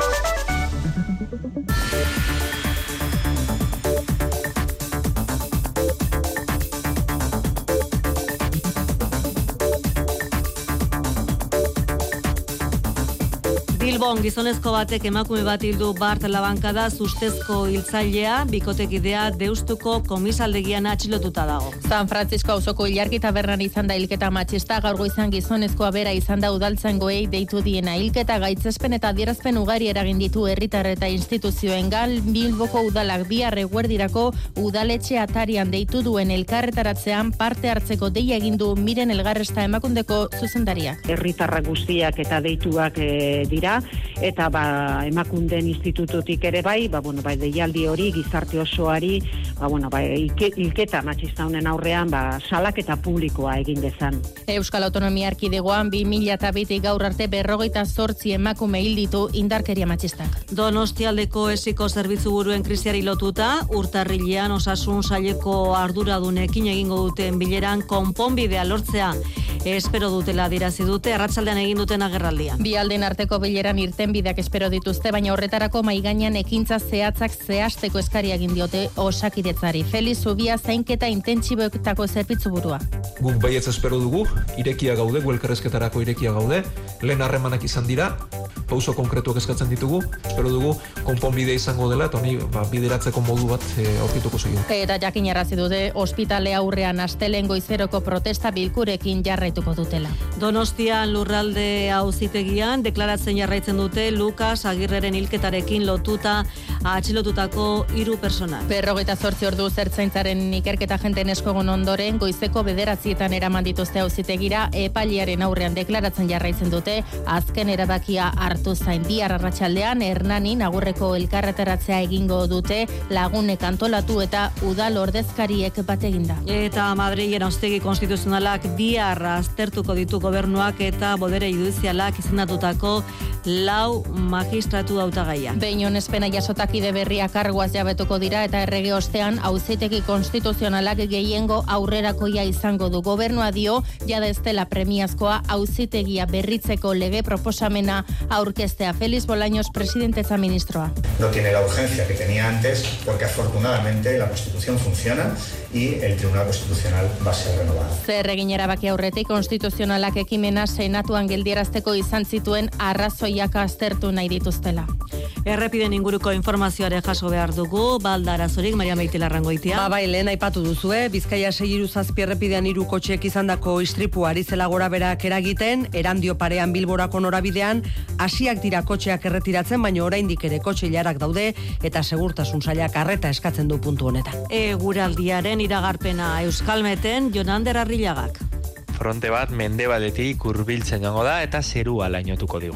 Bilbon gizonezko batek emakume bat hildu bart labankada, ustezko hiltzailea bikotekidea Deustuko komisaldegian atxilotuta dago. San Francisco auzoko ilargi tabernan izan da hilketa matxista, gaur goizan gizonezkoa bera izan da udaltzaingoei deitu diena. Hilketa gaitzespen eta adierazpen ugari eragin ditu herritar eta instituzioengan. Bilboko udalak bihar eguerdirako udaletxe atarian deitu duen elkarretaratzean parte hartzeko deia egin du Miren Elgarresta Emakundeko zuzendaria. Herritarrak guztiak eta deituak e, dira, eta ba, Emakunden institututik ere bai, ba, bueno, bai, deialdi hori gizarte osoari, ba, bueno, bai, hilketa matxista honen aurrean, ba, salaketa publikoa egin dezan. Euskal Autonomia Erkidegoan bi mila bitik gaur arte berrogeita zortzi emakume hil ditu indarkeria matxistak. Donostialdeko esiko zerbitzu buruen krisiari lotuta, urtarrilean osasun saileko arduradunekin egingo duten bileran konponbidea lortzea espero dutela dirazi dute, arratsaldean egin duten agerraldia. Bi alden arteko bileran irtenbideak espero dituzte, baina horretarako maigainan ekintza zehatzak zehazteko eskaria egin diote Osakidetzari. Feliz Zubia zainketa intentsiboetako zerbitzu burua. Guk baietz espero dugu, irekia gaude, elkarrizketarako irekia gaude, lehen harremanak izan dira, pauso konkretuak eskatzen ditugu, espero dugu konponbidea izango dela, eta honi ba, bideratzeko modu bat e, aurkituko zuen. Eta jakinarazi dute ospitale aurrean astelehen goizeroko protesta bilkurekin jarraituko dutela. Donostian lurralde auzitegian deklaratzen jarraitzen dute Lukas Agirreren hilketarekin lotuta atxilotutako hiru persona. Berrogeita zortzi ordu zertzaintzaren ikerketa jenten eskogon ondoren goizeko bederatzietan eraman dituzte auzitegira, epailearen aurrean deklaratzen jarraitzen dute, azken erabakia hartu zain. Bihar arratsaldean Hernanin agurreko elkarretaratzea egingo dute, lagunek antolatu eta udal ordezkariek bat eginda. Eta Madrilen auzitegi konstituzionalak bihar aztertuko ditu gobernuak eta bodere judizialak izendatutako lau magistratu hautagaia. Behin onespena jasotakide berriak karguaz jabetuko dira eta errege ostean auzitegi konstituzionalak gehiengo aurrerakoia izango du. Gobernua dio jada ez dela premiazkoa auzitegia berritzeko lege proposamena aurkeztea. Feliz Bolaños, presidenteza ministroa. No tiene la urgencia que tenía antes porque afortunadamente la Constitución funciona y el Tribunal Constitucional va a ser renovado. Zer egin erabaki aurretik konstituzionalak ekimena senatuan geldierazteko izan zituen arrazoiak aztertu nahi dituztela. Errepiden inguruko informazioare jaso behar dugu, baldarazorik, Maria Meitilarrangoitia. Ba, bai, lehen aipatu duzue, Bizkaia sei hiru zazpi errepidean hiru kotxeek izandako istripu ari zela gora berak eragiten, Erandio parean Bilborako norabidean, hasiak dira kotxeak erretiratzen, baina oraindik ere kotxe ilarak daude, eta segurtasun sailak arreta eskatzen du puntu honetan. Eguraldiaren iragarpena Euskalmeten, Jonander Arrillagak. Fronte bat mendebaletik hurbiltzen joango da eta zerua lainotuko digu.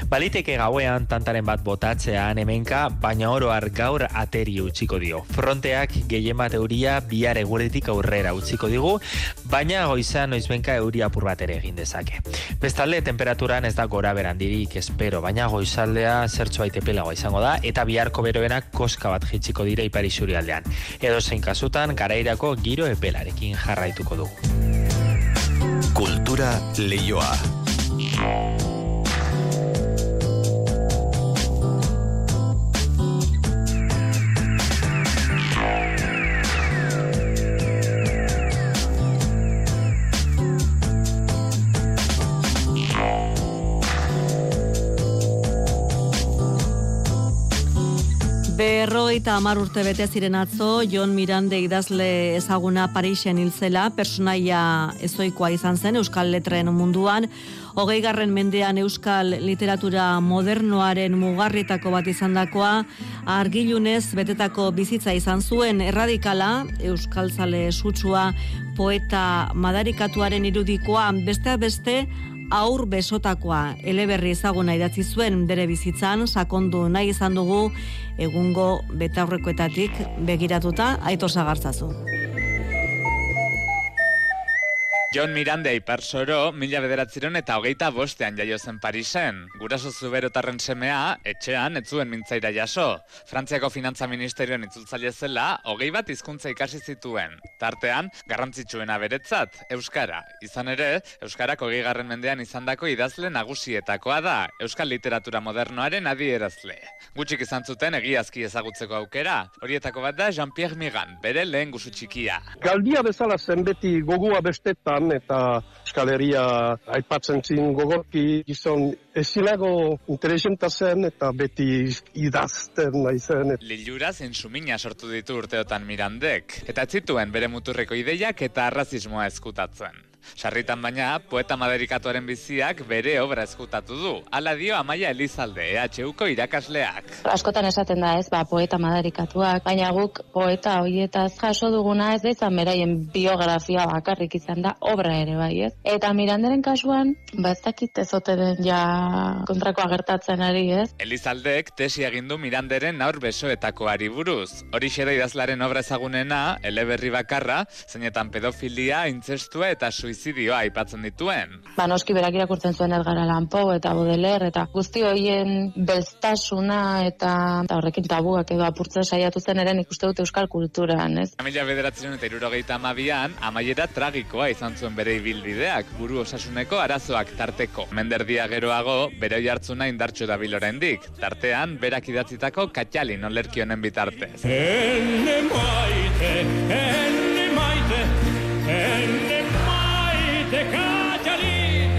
Baliteke gauean tantaren bat botatzean hemenka, baina oro har gaur ateri utziko dio. Fronteak gehien bat euria bihar eguretik aurrera utziko digu, baina goizan noizbenka euri apur bat ere egin dezake. Bestalde, temperaturan ez da gora berandirik espero, baina goizaldea zertxo baite pelagoa izango da, eta biharko beroenak koska bat jitsiko dira ipar isurialdean. Edo zein kasutan, garairako giro epelarekin jarraituko dugu. Kultura Leioa. Berrogeita hamar urte bete ziren atzo, Jon Mirande idazle ezaguna Parisen hil zela, personaia ezoikoa izan zen Euskal Letren munduan, hogeigarren mendean Euskal literatura modernoaren mugarrietako bat izandakoa, argilunez betetako bizitza izan zuen, erradikala, euskaltzale sutsua, poeta madarikatuaren irudikoa, besteak beste, aur besotakoa eleberri ezaguna idatzi zuen bere bizitzan, sakondu nahi izan dugu egungo betaurrekoetatik begiratuta. Aitor Sagartzazu. Jon Mirande Iparsoro, mila bederatziron eta hogeita bostean jaio zen Parisen. Guraso zuberotarren semea, etxean, ez zuen mintzaira jaso. Frantziako Finantza Ministerioan itzultzaile zela, hogei bat hizkuntza ikasi zituen. Tartean, garrantzitsuena beretzat, Euskara. Izan ere, Euskarak hogeigarren mendean izandako idazle nagusietakoa da, Euskal literatura modernoaren adierazle. Gutxik izan zuten egiazki ezagutzeko aukera. Horietako bat da Jean-Pierre Migan, bere lehen gusu txikia. Galdia bezala zen beti gogoa bestetan, eta Euskal Herria aipatzen zin gogorki gizon ezilago interesenta zen eta beti idazten nahi zen. Lilura zein sumina sortu ditu urteotan Mirandek, eta ez zituen bere muturreko ideiak eta arrazismoa ezkutatzen. Sarritan baina, poeta madarikatuaren biziak bere obra ezkutatu du. Hala dio Amaia Elizalde, E H Uko irakasleak. Askotan esaten da ez, ba, poeta madarikatuak, baina guk poeta horietaz jaso duguna ez da izan beraien biografia bakarrik izan da obra ere bai ez. Eta Miranderen kasuan, ba ez dakit ez ote den ja kontrakoa gertatzen ari ez. Elizaldek tesi egin du Miranderen aur besoetakoari buruz. Horixe da idazlaren obra ezagunena, eleberri bakarra, zeinetan pedofilia, intzestua eta suizidioa aipatzen dituen. Ba, noski berak irakurtzen zuen Edgar Allan Poe eta Baudelaire eta guzti horien belztasuna eta, eta horrekin tabuak edo apurtzen saiatu zen eren ikuste dut euskal kulturan, ez? Mila bederatziehun eta hirurogeita hamabian, amaiera tragikoa izan zuen bere ibilbideak, buru osasuneko arazoak tarteko. Menderdia geroago, bere jartzuna indartxo dabil oraindik, tartean berak idatzitako Katxalin olerki honen bitartez. Ene maite, ene maite, ene maite Katxalin,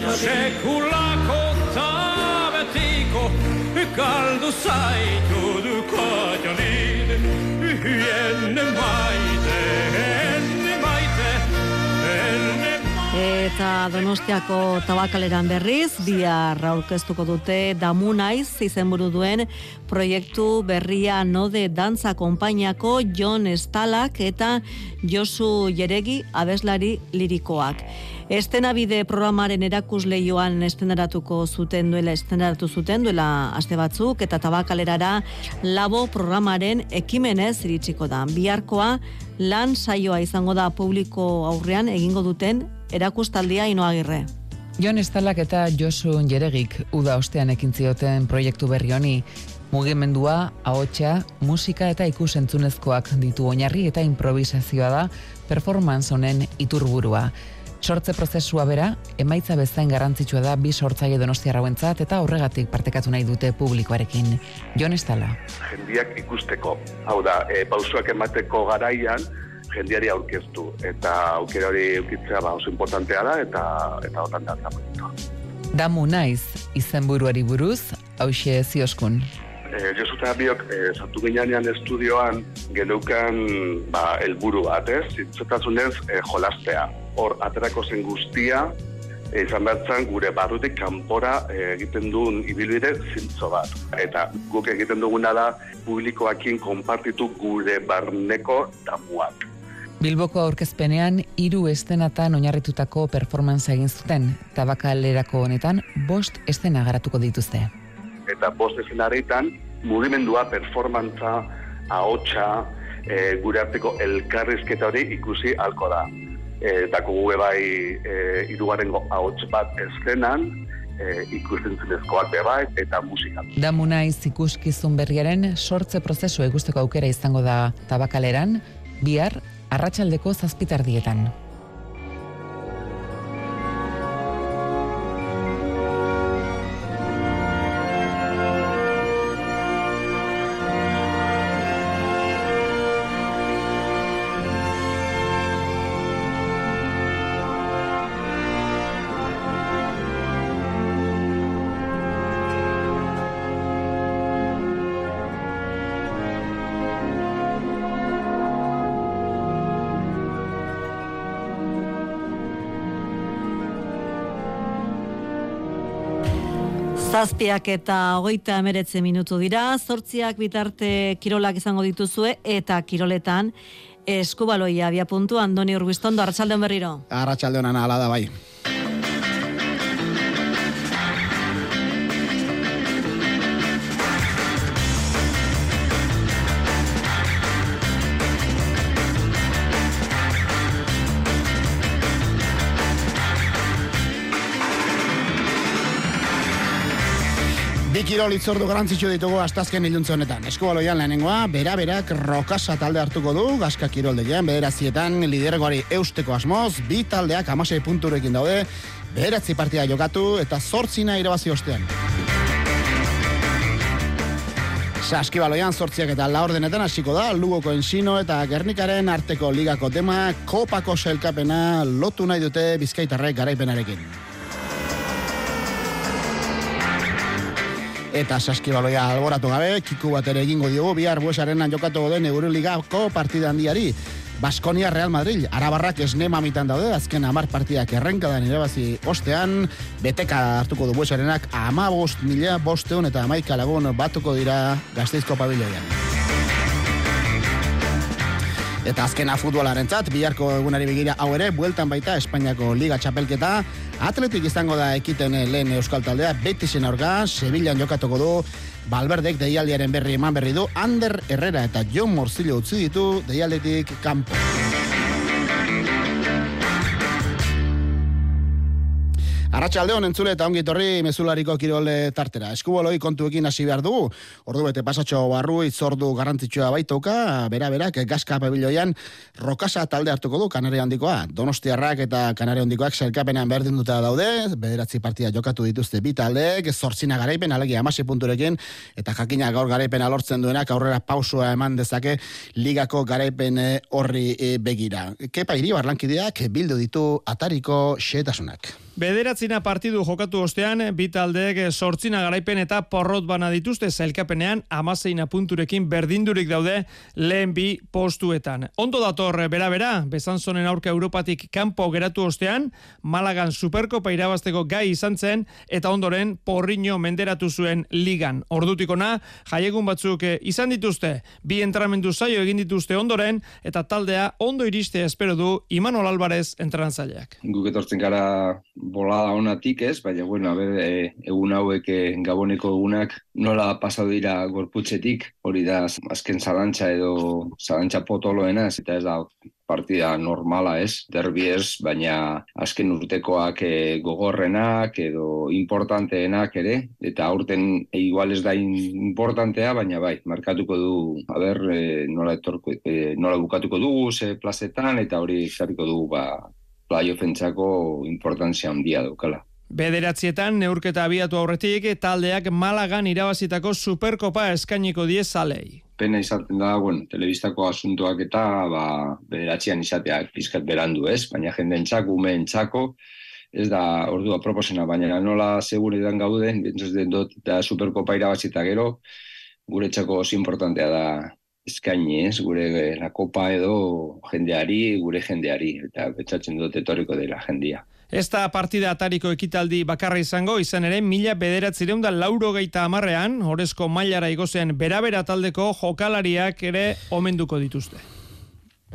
sekulako eta betiko, kaldu zaitu du Katxalin, ene maite, ene maite, ene Eta Donostiako tabakaleran berriz, bihar aurkeztuko dute Damu Naiz izenburu duen proiektu berria Node Dantza konpainiako Jon Estalak eta Josu Jeregi abeslari lirikoak. Estenabide programaren erakusleioan estenaratuko zuten duela, estenaratu zuten duela aste batzuk eta tabakalerara Labo programaren ekimenez iritsiko da. Biharkoa lan saioa izango da publiko aurrean egingo duten erakustaldia Inoagirre. Jon Estalak eta Josu Jeregik uda ostean ekin zioten proiektu berri honi. Mugimendua, ahotsa, musika eta ikusentzunezkoak ditu oinarri eta improvisazioa da performance honen iturburua. Sortze prozesua bera, emaitza bezain garrantzitsua da bi sortzaile donostiarrauentzat eta horregatik partekatu nahi dute publikoarekin. Jon Estala. Jendiak ikusteko, hau da, e, pausuak emateko garaian, jendiari aurkeztu, eta aukera hori eukitzea ba, oso importantea da, eta eta otan da zapoetu. Damu Naiz, izenburuari buruz, hauxe zioskun. E, Josu eta biok, e, sartu ginean estudioan, geneukan ba, elburu bat, ez? Zintzotasunez, e, jolastea. Hor, aterako zen guztia, e, izan behar gure barrutik kanpora e, egiten duen ibilbide zintzo bat. Eta guk egiten duguna da, publikoakin konpartitu gure barneko damuak. Bilboko aurkezpenean hiru eszenatan oinarritutako performance egin zuten. Tabakalerako honetan bost eszena garatuko dituzte. Eta bost eszenarietan mugimendua, performantza, ahotsa, e, gure arteko elkarrizketa hori ikusi halko da. E, dako gu bai e, hirugarrengo ahots bat eszenan, e, ikusten zunezkoak bai eta musika. Damu naiz ikuskizun berriaren sortze prozesu ikusteko aukera izango da Tabakaleran, bihar arratsaldeko zazpitardietan. Zazpiak eta hogeita emeretze minutu dira, zortziak bitarte kirolak izango dituzue eta kiroletan eskubaloia abia puntu. Andoni Urbiztondo, arratsaldeon berriro. Arratsaldeon ana, hala da bai. Bi kirol itzordu garantzitsu ditugu astazken iluntze honetan. Eskubaloian lehenengoa, bera-berak Rokasa talde hartuko du, Gaska kiroldegian, bederazietan lidergoari eusteko asmoz, bi taldeak hamasei punturekin daude, bederatzi partida jokatu eta zortzina irabazi ostean. Saskibaloian zortziak eta laurdenetan hasiko da, Lugoko Ensino eta Gernikaren arteko ligako tema, kopako sailkapena lotu nahi dute bizkaitarrek garaipenarekin. Eta saskibaloia alboratu gabe, kiku bat ere egingo diogu, bihar Buesarenan jokatuko den Euroligako partida handiari. Baskonia Real Madrid, arabarrak esne mamitan daude, azken hamar partidak errenkadan irabazi ostean, beteka hartuko du Buesarenak hamabost mila bosteun eta hamaika lagun batuko dira Gasteizko pabiloian. Eta azkena futbolarentzat, biharko egunari begira hau ere, bueltan baita Espainiako Liga Txapelketa, Atletik izango da ekiten lehen euskal taldea, Betisen aurka, Sevillan jokatuko du, Valverdek deialdiaren berri eman berri du, Ander Herrera eta Jon Morcillo utzi ditu deialdetik kanpo. Arratsaldeon entzule eta ongi etorri mezulariko kirole tartera. Eskuboloi kontuekin hasi behar dugu. Ordu bete pasatxo barru itzordu garrantzitsua baitoka, bera-berak Gaska pabiloian Rokasa talde hartuko du Kanaria handikoa. Donostiarrak eta Kanaria handikoak sailkapenean berdinduta daude, bederatzi partida jokatu dituzte bi taldeek, zortzina garaipen, alegia hamasei punturekin, eta jakina gaur garaipena lortzen duenak aurrera pausua eman dezake ligako garaipen horri begira. Kepa Iribar lankideak bildu ditu atariko xehetasunak. Bederatzina partidu jokatu ostean, bi taldeek sortzina garaipen eta porrot bana dituzte zailkapenean amaseina punturekin berdindurik daude lehen bi postuetan. Ondo dator bera-bera, Besanzonen aurka Europatik kanpo geratu ostean, Malagan Superkopa irabazteko gai izan zen, eta ondoren Porriño menderatu zuen ligan. Ordutikona, jaiegun batzuk izan dituzte, bi entramendu zaio egin dituzte ondoren, eta taldea ondo iriste espero du Imanol Alvarez entrenazaileak. Guk etortzen gara bolada onatik ez, baina bueno, a ber, e, egun hauek e, Gaboneko egunak nola pasatu dira gorputzetik, hori da azken zalantza edo zalantza potoloena, ez, eta ez da partida normala ez, derbi ez, baina azken urtekoak e, gogorrenak edo importanteenak ere, eta aurten e, igual ez da importantea, baina bai, markatuko du, a ber, e, nola, etorko, e, nola bukatuko dugu, ze plazetan, eta hori jarriko dugu, ba, playoffentzako importantzia handia daukala. Bederatzietan neurketa abiatu aurretik taldeak Malagan irabazitako Superkopa eskainiko die zalei. Pena izaten da, bueno, telebistako asuntoak eta ba, bederatzean izateak pizkat berandu ez, baina jendentzako, umeentzako, ez da ordua proposena, baina nola seguretan gauden, bentsuz den dut da Superkopa irabazita gero, guretzako oso importantea da eskaini ez, gure la kopa edo jendeari, gure jendeari, eta betzatzen dut etorriko dela jendia. Ez da partida atariko ekitaldi bakarra izango, izan ere mila bederatzireun da laurogeita hamarrean, orezko mailara igozen bera-bera taldeko jokalariak ere omenduko dituzte.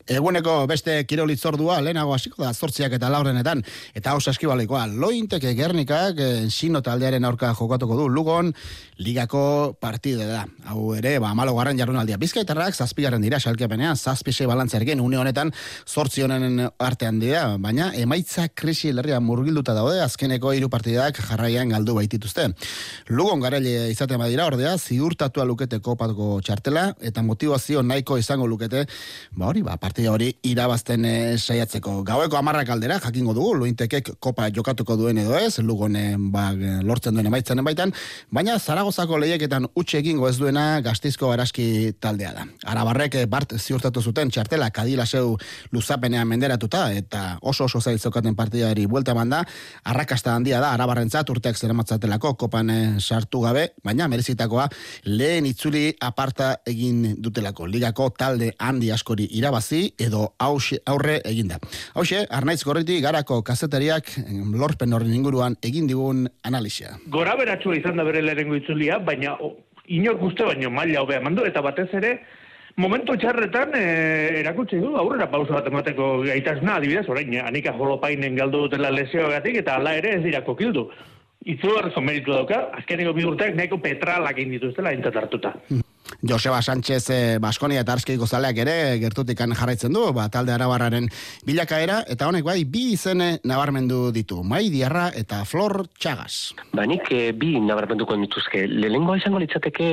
Eguneko beste kirolitzordua lehenago hasiko da zortziak eta laurdenetan, eta hau saskibaloikoa Lointek Gernikak Ensino taldearen aurka jokatuko du Lugon ligako partida da. Hau ere, ba amalogarren jardunaldia. Bizkaitarrak zazpigarren dira salkepenean, zazpi sei balantzarekin une honetan zortzi honen artean dira, baina emaitza krisi larria murgilduta daude, azkeneko hiru partidak jarraian galdu baitituzte. Lugon garaile izaten badira ordea, ziurtatua lukete kopatuko txartela, eta motivazio nahiko izango lukete, ba hori, ba partida hori irabazten e, saiatzeko. Gaueko hamarrak aldera jakingo dugu, Lointekek kopa jokatuko duen edo ez, Lugon e, ba, lortzen duen emaitzaren baitan, baina Zaragozako lehiaketan utxe egingo ez duena Gasteizko Araski taldea da. Arabarrek bart ziurtatu zuten txartela Kadilaseu luzapenean menderatuta, eta oso oso zail zeukaten partidari buelta manda, arrakasta handia da Arabarrentzat urteak zeramatzatelako kopan e, sartu gabe, baina merezitakoa lehen itzuli aparta egin dutelako. Ligako talde handi askori irabazi edo hause, aurre eginda. Hauxe, Arnaiz Gorriti Garako kazetariak lorpen horren inguruan egin digun analisia. Gora beratxua izan da bere lehenengo itzulia, baina o, inor guzti baino maila hobea mandu, eta batez ere momentu txarretan e, erakutsi du aurrera pauso bat emateko gaitasuna, adibidez, orain, Anika Jolopainen galdu dutela lesioagatik, eta hala ere ez dira kokildu. Izugarrizko meritu dauka, azkeneko bi urteak nahiko petralak egin dituztela aintzat hartuta. Joseba Sánchez eh, Baskonia eta Arskiko zaleak ere gertutikan jarraitzen du, ba, talde arabarraren bilakaera, eta honek bai bi izene nabarmendu ditu, Mai Diarra eta Flor Txagas. Ba, nik e, bi nabarmenduko dituzke. Lehenengoa izango litzateke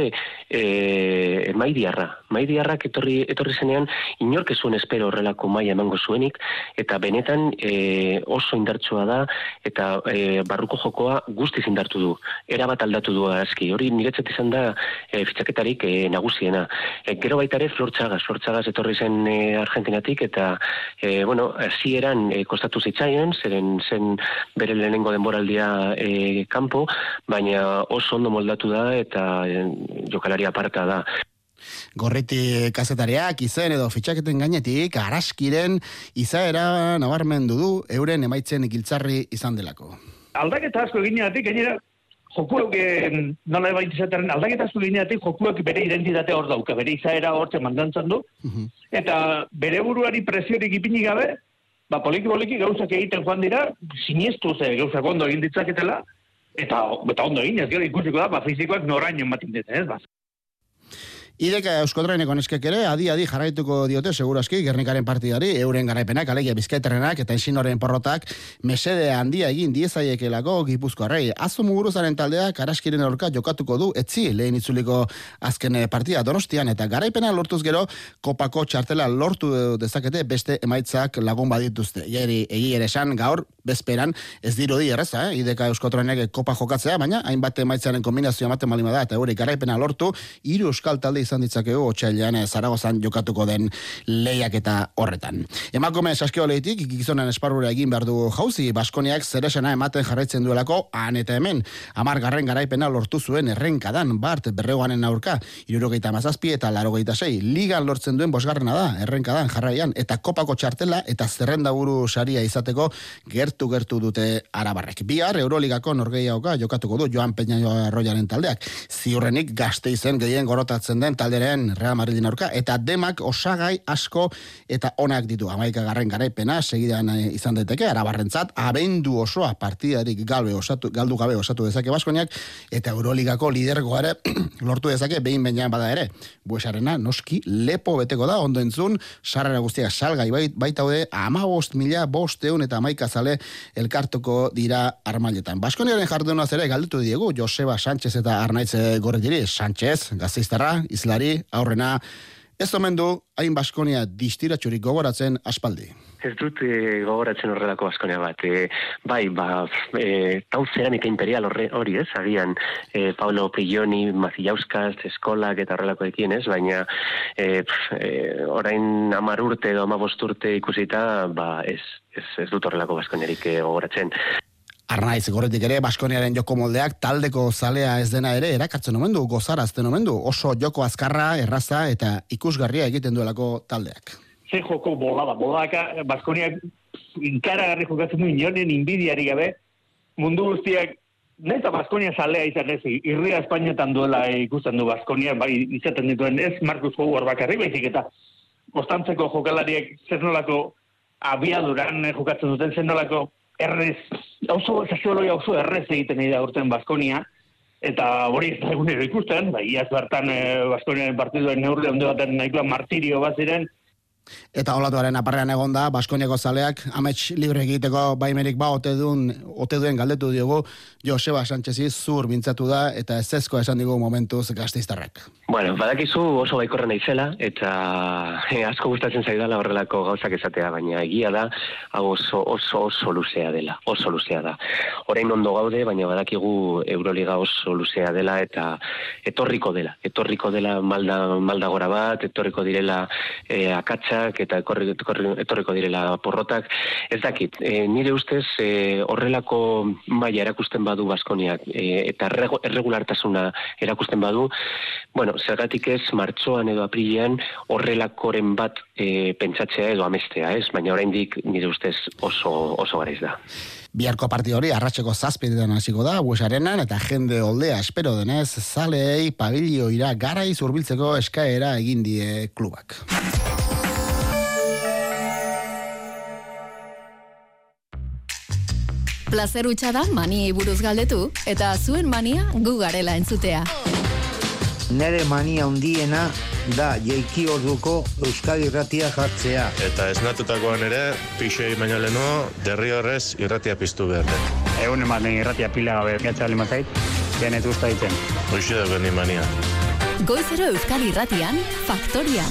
e, Mai Diarra. Mai Diarrak etorri, etorri zenean inork ez zuen espero horrelako maila emango zuenik, eta benetan e, oso indartsua da, eta e, barruko jokoa guztiz indartu du. Era bat aldatu du aski. Hori niretzat izan da e, fitxaketarik e, nagusiena. E, gero baita ere Flor Txagas. Flor Txagas etorri zen e, Argentinatik, eta e, bueno, hasieran e, kostatu zitzaion, zeren zen bere lehenengo denboraldia e, kanpo, baina oso ondo moldatu da eta e, jokalari aparta da. Gorriti kazetariak izen edo fitxaketen gainetik Araskiren izaera nabarmendu du euren emaitzen giltzarri izan delako. Aldaketa asko egineatik, gainera, jokuek, nola baita izatearen, aldaketa asko egineatik jokuek bere identitatea hor dauka, bere izaera hortzen mandantzan du, uh-huh. Eta bere buruari presiorik ipini gabe, ba, poliki-poliki gauzak egiten joan dira, siniestu ze gauzak ondo egin ditzaketela, eta, eta ondo egin, ez gero ikusiko da, ba, fizikoak noraino ematen dut, ez, ba. Ideka Euskotraineko neskek ere adi-adi jarraituko diote segurazki Gernikaren partidari, euren garaipenak, alegia Bizkaitarrenak eta Ensinoren porrotak mesede handia egin diezaiekelako Gipuzkoarrei. Azo Muguruzaren taldeak Araskiren aurka jokatuko du etzi lehen itzuliko azken partida Donostian, eta garaipena lortuz gero kopako txartela lortu dezakete beste emaitzak lagun badituzte. Egi ere esan gaur bezperan ez dirudi erreza, eh? Ideka Euskotrainek kopa jokatzea, baina hainbat emaitzaren kombinazioa ematen balima da, eta eurik garaipena lortu, hiru euskal talde izan ditzakegu otsailean Zaragozan jokatuko den lehiaketa horretan. Emakume saskioleitik gizonen esparrura egin behar du jauzi, Baskoniak zeresena ematen jarraitzen duelako han eta hemen. Hamargarren garaipena lortu zuen errenkadan Bart Berregoanen aurka, hirurogeita hamazazpi eta laurogeita sei. Ligan lortzen duen bosgarrena da errenkadan jarraian, eta kopako txartela eta zerrendaburu saria izateko gertu gertu dute arabarrek. Bihar Euroligako norgehiagoka jokatuko du Joan Peña Arroyaren taldeak. Ziurrenik Gasteizen gehien gorotatzen den talderen Real Madridin aurka, eta demak osagai asko eta onak ditu. Hamaika garren garaipena segidan izan daiteke arabarrentzat, abendu osoa partidarik galbe osatu, galdu gabe osatu dezake Baskoniak, eta Euroligako lidergoa ere lortu dezake behin behinean bada ere. Buesarena noski lepo beteko da, ondo entzun, sarrera guztiak salgai bait, baitaude hamabost mila bosteun eta hamaika zale elkartuko dira armailetan. Baskoniaren jardunaz ere galditu diegu Joseba Sánchez eta Arnaiz Gorritiri. Sánchez, Gasteiztarra, izlari, aurrena, ez omen du hain Baskonia distiratxurik gogoratzen aspaldi. Ez dut e, gogoratzen horrelako Baskonia bat. E, bai, ba, e, Tau Cerámica Imperial horre, hori ez, agian e, Paulo Pilloni, Macillauskas, Eskolak eta horrelakoekin ez, baina e, pf, e, orain hamar urte edo hamabost urte ikusita, ba, ez, ez, ez dut horrelako Baskoniarik e, gogoratzen. Arnaiz Gorritik ere Baskoniaren joko moldeak taldeko zalea ez dena ere erakartzen omen du, gozarazten omen du, oso joko azkarra, erraza eta ikusgarria egiten duelako taldeak. Ze joko bolada, bolada, Baskoniak inkaragarri jokatzen du inoren inbidiari gabe, mundu guztiak, neta Baskonia zalea izan ez, irria Espainiatan duela ikusten du Baskonia, bai izaten dituen ez Marcus Howard bakarri, baizik eta Konstantzeko jokalariek zer nolako abiaduran jokatzen duten, zer nolako errez, oso zaziologia oso errez egiten da urten Baskonia, eta hori ez da egunero ikusten, bai, iaz bertan Baskoniaren partiduen neurri onde baten nahikoa martirio bat ziren. Eta olatuaren aparrean egon da, Baskoniako zaleak amets libre egiteko baimerik ba ote duen, ote duen galdetu diogu Joseba Sánchezi zur mintzatu da eta ezezkoa esan digu momentuz Gasteiztarrak. Bueno, badakizu oso baikorra naizela eta eh, asko gustatzen zaidala horrelako gauzak esatea, baina egia da hau oso oso oso luzea dela, oso luzea da. Orain ondo gaude, baina badakigu Euroliga oso luzea dela eta etorriko dela, etorriko dela malda malda gora bat, etorriko direla eh, akatsak eta etorri, etorri, etorriko direla porrotak. Ez dakit, e, nire ustez e, horrelako maila erakusten badu Baskoniak e, eta erregulartasuna erakusten badu, bueno, zergatik ez martxoan edo aprilean horrelakoren bat e, pentsatzea edo amestea, ez? Baina oraindik nire ustez oso oso garaiz da. Biharko partido hori arratseko zazpietan hasiko da Bues Arenan eta jende oldea espero denez zaleei pabilioira garaiz hurbiltzeko eskaera egin die klubak. Plazer hutsa da maniei buruz galdetu eta zuen mania gu garela entzutea. Nere mania hundiena da jeiki orduko Euskadi irratia jartzea. Eta esnatutakoan ere, pixei baino leno, derriorrez irratia piztu behar den. Egun ematen irratia pila gabe gatza lima zait, genetu usta ditzen. Hoxe dago ni mania. Goizero Euskadi irratian, Faktoria.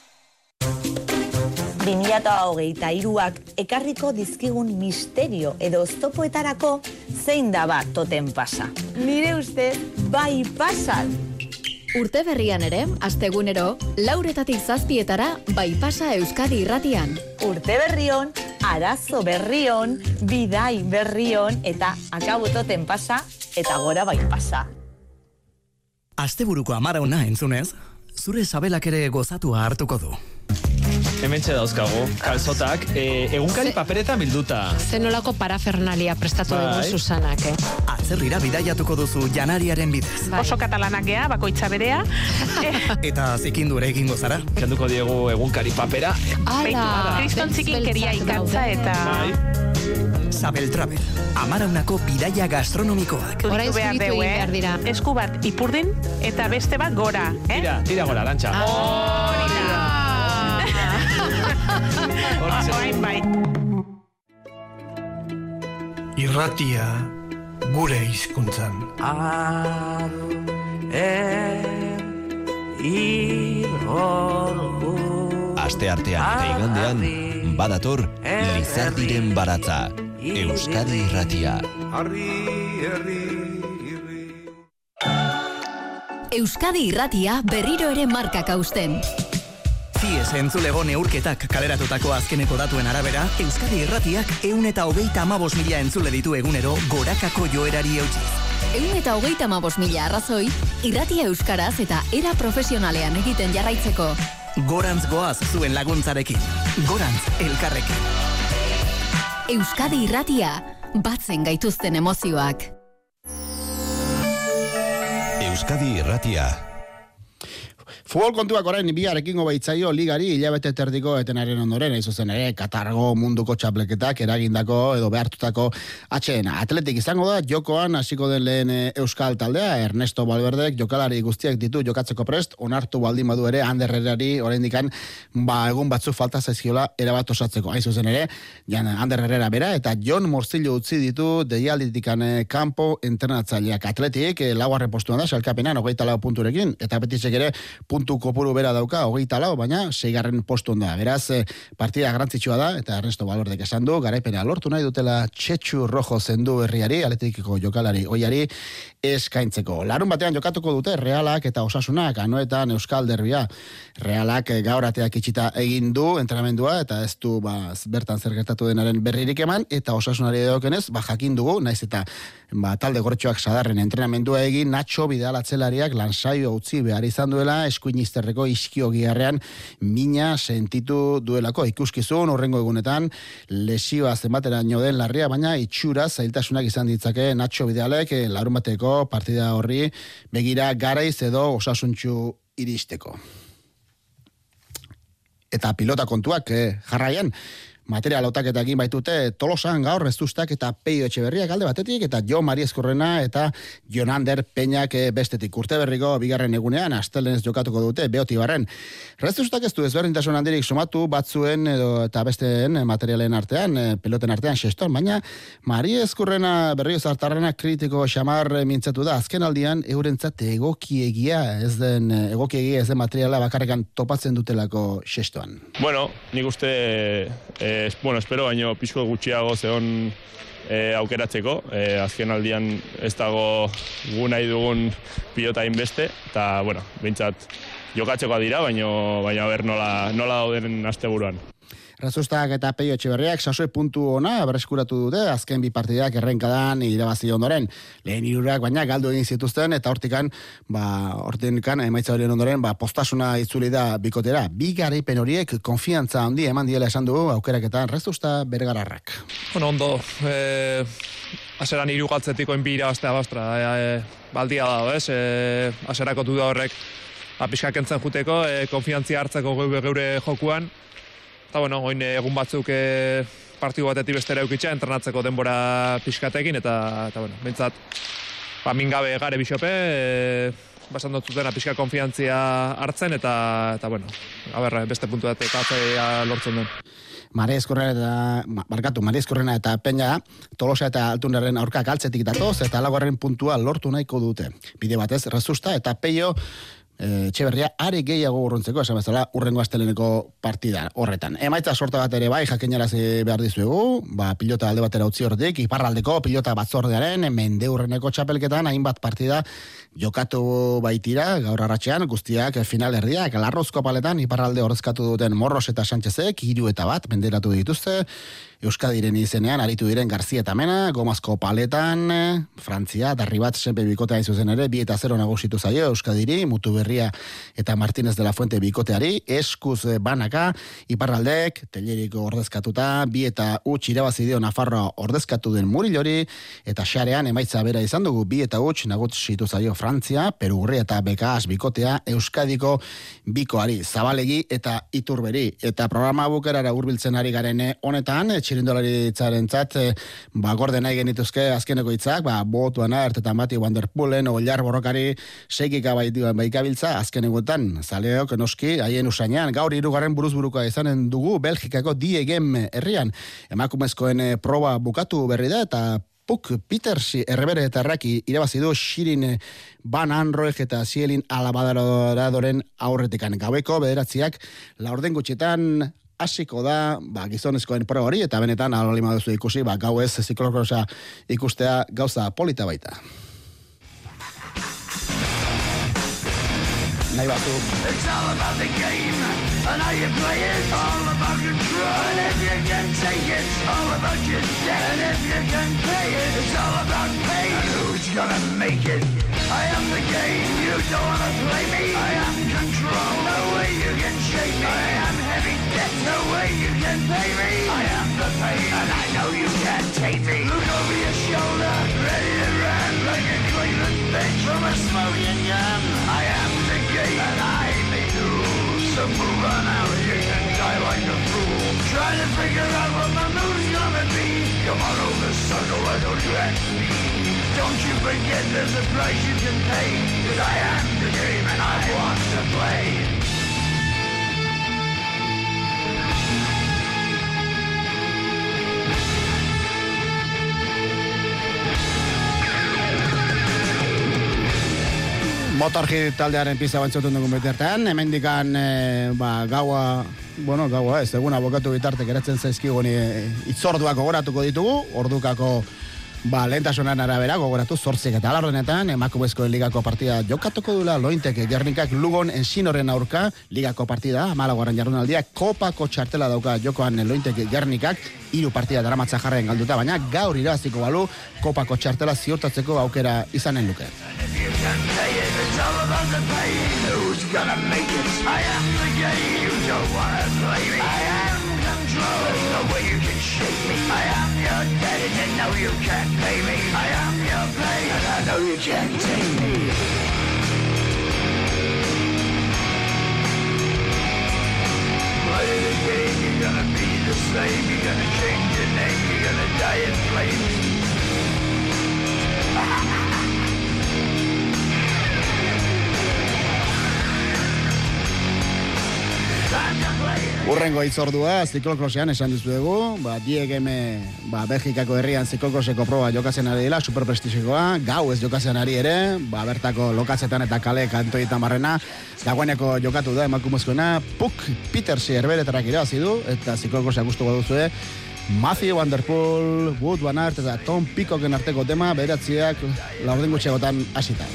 bi mila hogeita hiruak ekarriko dizkigun misterio edo oztopoetarako zein da bat toten pasa. Nire ustez, bai pasan. Urte berrian ere, astegunero, lauretatik zazpietara bai pasa Euskadi irratian. Urte berrion, arazo berrion, bidai berrion eta akabo toten pasa eta gora bai pasa. Asteburuko amarauna entzunez, zure sabelak ere gozatua hartuko du. Hementxe dauzkagu, kalzotak, e, egunkari paperetan bilduta. Zenolako parafernalia prestatu Bai. dugu Susanak, eh? Atzerrira bidaiatuko duzu janariaren bidez. Bai. Oso katalanak gea, bakoitza berea. Eta zikindu ere egingo zara. Kenduko diegu egunkari papera. Ala, kriston txikinkeria ikatza eta... Sabel Travel, amaraunako bidaia gastronomikoak. Orain behar deu, eh? Esku bat ipurdin eta beste bat gora, eh? Tira, tira gora, Arantxa. Hori da. Orain bai. Irratia gure hizkuntzan. Aste artean eta igandean, badator Lizardiren baratza. Euskadi irratia. Euskadi irratia berriro ere markak hausten. Zies entzulego neurketak kaleratutako azkeneko datuen arabera, Euskadi irratiak ehun eta hogeita hamabost mila entzule ditu egunero gorakako joerari eutxiz. Ehun eta hogeita hamabost mila arrazoi, irratia euskaraz eta era profesionalean egiten jarraitzeko. Gorantz goaz zuen laguntzarekin. Gorantz elkarrekin. Euskadi irratia, batzen gaituzten emozioak. Euskadi irratia. Futbol kontuak orain biarekingo baitzaio ligari hilabete terdiko etenaren ondoren, ez zuzen ere, Katargo munduko txapleketak eragindako edo behartutako atxeena. Atletik izango da, jokoan hasiko den lehen euskal taldea, Ernesto Valverdek jokalari guztiak ditu jokatzeko prest, onartu baldin badu ere, Ander Herrerari oraindikan ba, egun batzu falta zaizkiola erabat osatzeko. Hain zuzen ere, jan Ander Herrera bera, eta Jon Morcillo utzi ditu deialditikan kanpo entrenatzaileak. Atletik, laugarren postuan da, salkapenan, hogeita lau punturekin, eta betisek ere, puntu kopuru bera dauka, hogeita lau, baina seigarren postun da. Beraz, partida garrantzitsua da, eta Ernesto Valverdek esan du, garaipena lortu nahi dutela Txetxu Rojo zendu herriari, Atletikiko jokalari oiari eskaintzeko. Larun batean jokatuko dute Realak eta Osasunak, Anoetan Euskal Derbia. Realak gaurateak itxita egin du entrenamendua, eta ez du ba, bertan zer gertatu denaren berririk eman, eta Osasunari edokenez, ba, jakin dugu, naiz eta ba, talde gortxoak sadarren entrenamendua egin, Nacho Vidal atzelariak lansaio utzi behar izan duela, eskuinizterreko iskio giharrean mina sentitu duelako ikuskizun horrengo egunetan lesioa zenbateraino den larria, baina itxura zailtasunak izan ditzake Nacho Vidalek larun bateko partida horri begira garaiz edo osasuntxu iristeko. Eta pilota kontuak eh, jarraian, material otaketekin baitute Tolosan gaur Rezustak eta Peio Etxeberriak alde batetik eta Jo Mariezkorrena eta Jonander Peñak bestetik. Urteberriko bigarren egunean astelenez jokatuko dute Beotibarren. Rezustak ez du ezberdintasun handirik sumatu batzuen edo eta besteen materialen artean, peloten artean xeston, baina Mariezkorrena berrio zartarrena kritiko xamar mintzatu da. Azken aldian eurentzat egokiegia ez den egokiegia ez den materiala bakarrekan topatzen dutelako xestoan. Bueno, nik uste e, Eh, bueno, espero baino pixko gutxiago zeon eh, aukeratzeko. Eh, azken aldian ez dago gu nahi dugun pilota inbeste, eta, bueno, behintzat jokatzeko dira, baino, baina ber nola, nola dauden asteburuan. Rezustak eta Peio Etxeberriak sasoi puntu ona berreskuratu dute azken bi partidak errenkadan irabazi ondoren. Lehen hirurak baina galdu egin zituzten eta hortikan, ba, hortikan emaitza horien ondoren, ba, postasuna itzuli da bikotera. Bi garaipen horiek konfiantza handi eman diela esan du aukeraketan Rezusta Bergararrak. Bueno, ondo, eh, aseran hiru galtzetiko enbi irabaztea bastra, eh, baldia dago, ez? Eh, aserako duda horrek apiskak entzen juteko, eh, konfiantzia hartzeko geure, geure jokuan. Eta, bueno, oin egun batzuk e, partidu batetik bestera eukitza, entrenatzeko denbora pixkatekin, eta, eta bueno, bintzat, ba, mingabe gare bisope, e, basan dotzuten pixka konfiantzia hartzen, eta, eta bueno, haber, beste puntu datek atzea lortzen duen. Mariezkorrena eta, barkatu, Mariezkorrena eta Peña, Tolosa eta Altunaren aurka galtzetik datoz, eta laugarren puntua lortu nahiko dute. Bide batez, Rezusta eta Peio, Etxeberria are gehiago urruntzeko, esan bezala urrengo asteleneko partida horretan. Emaitza sorta bat ere bai jakinarazi behar dizuegu, ba, pilota alde batera utzi horretik, iparraldeko pilota batzordearen mendeurreneko txapelketan hainbat partida jokatu baitira, gaur arratsean guztiak final erdiak, Larrozko paletan iparralde ordezkatu duten Morros eta Sánchezek hiru eta bat menderatu dituzte, Euskadiren izenean aritu diren Garzia eta Mena, Gomazko paletan, Frantzia, Darribat senpe bikotea izuzen ere, bi eta zero nagusitu zaio Euskadiri, Mutu Berria eta Martínez de la Fuente bikoteari, eskuz banaka, iparraldek, Telleriko ordezkatuta, bi eta huts irabazi dio Nafarroa ordezkatu den Murilori, eta xarean emaitza bera izan dugu, bi eta huts nagusitu zaio Frantzia, Perugurria eta Bekas bikotea, Euskadiko bikoari, Zabalegi eta Iturberi, eta programa bukerara hurbiltzen ari garen honetan, txirindolaritzaren-tzat, ba, gorde nahi genituzke azkeneko hitzak, ba, botuana, ertetan bati Wanderpoolen, Ollar borrokari, seikika baikabiltza, azkenegoetan, zaleok noski, haien usainean, gaur hirugarren buruzburuka izanen dugu, Belgikako Diegem herrian, emakumezkoen proba bukatu berri da, eta Puk Peters errebere eta erraki irabazi du Shirin Van Anroeg eta Zielin Alabadadoren aurretikan. Gaueko bederatziak laurden gutxetan hasiko da, ba, gizonezkoen pro hori, eta benetan alolima duzu ikusi, ba, gau ez ziklokrosa ikustea gauza polita baita. Nahi batu. It's all about the game, and how you play it, all about control, and if you can take it, all about your debt, and if you can pay it, it's all about pain, and who's gonna make it? I am the game, you don't wanna play me, I am control, no way you can shake me, I am heavy debt, no way you can pay me, I am the pain, and I know you can't take me, look over your shoulder, ready to run, like a Cleveland bench from a smoking gun, I am the game, and I may lose, so move on out, you can die like a fool, trying to figure out what my move's gonna be, come on over, sucker, why don't you ask me? Don't you forget there's a price you can pay, cause I am the game and I want to play. Motorhit taldearen pizza bantzotun dugun bitartean, hemendikan e, ba, gaua, bueno, gaua ez, eguna bokatu bitarte geratzen zaizkigun e, itzorduak gogoratuko ditugu, ordukako ba, lehentasunan arabera gogoratu zortzik eta alardenetan, emakumezkoen ligako partida jokatuko dula Lointek Gernikak Lugon Ensinoren aurka, ligako partida, amalagoaren jardunaldia, kopako txartela dauka jokoan Lointek Gernikak, hiru partida daramatza jarren galduta, baina gaur irabaziko balu, kopako txartela ziurtatzeko aukera izanen luke. It's all about the pain, who's gonna make it? I am the game, you don't wanna play me, I am control, there's no way you can shake me, I am your debt and you know you can't pay me, I am your pain and I know you can't take me. Play same. You're gonna change your name. You're gonna die in flames. Urrengo itzordua, ziklokrosean esan dizuegu, ba, diegeme, ba, Belgikako herrian ziklokroseko proba jokatzen ari dela, superprestizikoa, gau ez jokatzen ari ere, ba, bertako lokatzetan eta kale kantoietan barrena, dagoeneko jokatu da emakumezkoena, Puck Petersi erberetarrak irabazi du, eta ziklokroseak gustuko duzue, Matthew Van Der Poel, Wood Van Aert eta Tom Peacocken arteko tema, beratziak laurden gutxegotan hasita.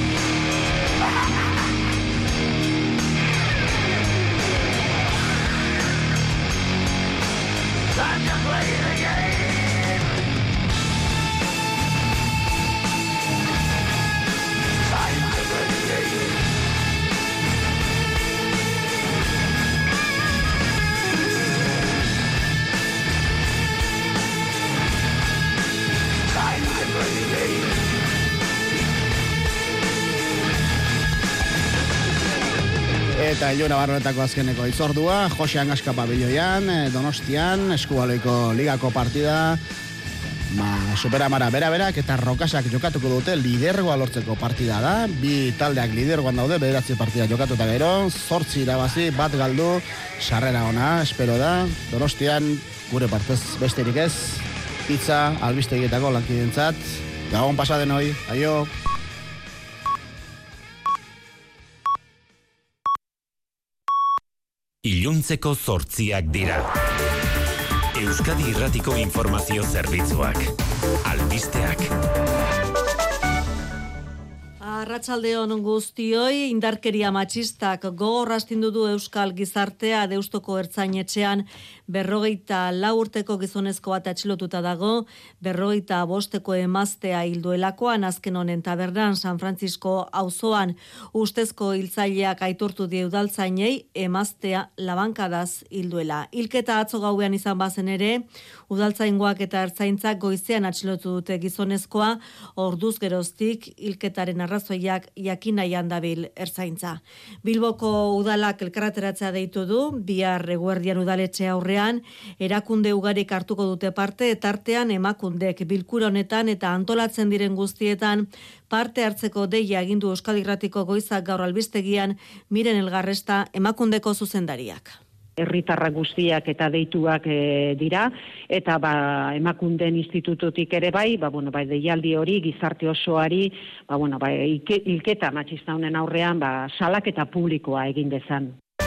Eta Iluna Barronetako azkeneko itzordua, Jose Angaska pabiloian, Donostian, Eskubaloiko ligako partida, ma, superamara bera-berak eta Rokasak jokatuko dute lidergoa lortzeko partida da, bi taldeak lidergoan daude, bederatzi partida jokatu eta gero, zortzi irabazi, bat galdu, sarrera ona, espero da, Donostian, gure partez besterik ez, pizza, albistegietako lankidentzat, gabon pasaden hoi, aio! Iluntzeko zortziak dira. Euskadi Irratiko Informazio Zerbitzuak. Albisteak. Arratsaldeon guztioi, indarkeria matxistak gogor astindu du Euskal Gizartea Deustoko Ertzainetxean berrogeita lau urteko gizonezko bat atxilotuta dago, berrogeita bosteko emaztea hilduelakoan azken honen tabernan San Francisco auzoan ustezko hiltzaileak aitortu die udaltzainei emaztea labankadaz hilduela. Hilketa atzo gauean izan bazen ere, udaltzaingoak eta ertzaintzak goizean atxilotu dute gizonezkoa, orduz geroztik hilketaren arrazoiak jakin nahian dabil ertzaintza. Bilboko udalak elkarreteratzea deitu du, bihar eguerdian udaletxe aurrean, erakunde ugarik hartuko dute parte, etartean emakundek bilkura honetan eta antolatzen diren guztietan parte hartzeko deia egindu Euskadi Irratiko Goizak gaur albistegian Miren Elgarresta emakundeko zuzendariak. Herritarra guztiak eta deituak e, dira, eta ba, emakunden institututik ere bai, ba, bueno, bai, deialdi hori, gizarte osoari, ba, bueno, bai, hilketa matxista honen aurrean, ba, salaketa publikoa egin dezan.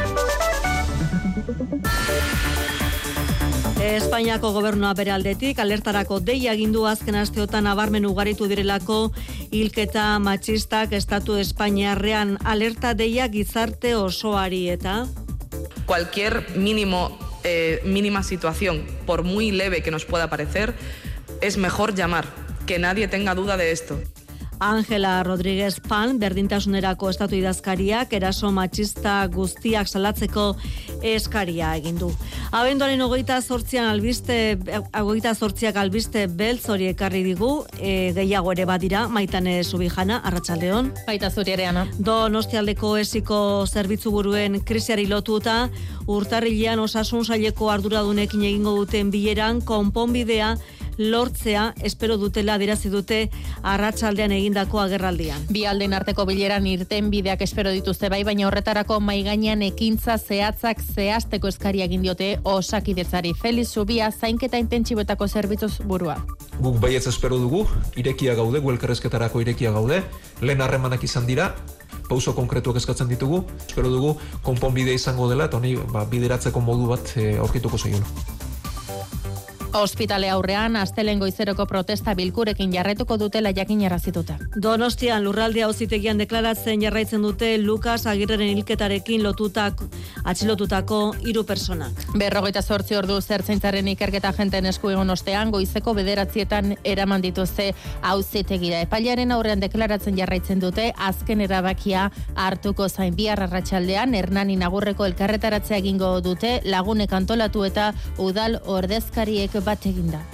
Espainiako gobernua bere aldetik, alertarako deia egindu azken asteotan nabarmen ugaritu direlako hilketa matxistak estatu Espainiarrean alerta deia gizarte osoari eta... Cualquier mínimo, eh, mínima situación, por muy leve que nos pueda parecer, es mejor llamar, que nadie tenga duda de esto. Ángela Rodríguez Pan, berdintasunerako estatu idazkariak, eraso matxista guztiak salatzeko eskaria egin du. Abenduaren hogeita zortzian albiste, hogeita zortziak albiste beltz hori ekarri digu, e, gehiago ere badira, Maitane Subijana, arratsaldeon. Baita zuri ere, Ana. Donostialdeko esiko zerbitzu buruen krisiari lotuta, urtarrilean osasun saileko arduradunekin egingo duten bileran, konponbidea lortzea espero dutela adierazi dute arratsaldean egindako agerraldian. Bi aldeen arteko bileran irten bideak espero dituzte bai, baina horretarako mai gainean ekintza zehatzak zehazteko eskaria egin diote Osakidetzari. Feliz Zubia zainketa intentsiboetako zerbitzuz burua. Guk baietz espero dugu, irekia gaude, gu elkarrezketarako irekia gaude, lehen harremanak izan dira, pauso konkretuak eskatzen ditugu, espero dugu konponbidea izango dela, eta honi ba, bideratzeko modu bat e, aurkituko zaiola. Ospitale aurrean, astelehen goizeroko protesta bilkurekin jarraituko dutela jakinarazituta. Donostian lurralde auzitegian deklaratzen jarraitzen dute Lukas Agirreren hilketarekin lotutak, atxilotutako hiru personak. Berrogeita zortzi ordu zertzaintzaren ikerketa agenten esku egon ostean, goizeko bederatzietan eraman dituzte auzitegira. Epailearen aurrean deklaratzen jarraitzen dute, azken erabakia hartuko zain bihar arratsaldean, Hernani Nagurreko elkarretaratzea egingo dute, lagunek antolatu eta udal ordezkariek bat eginda.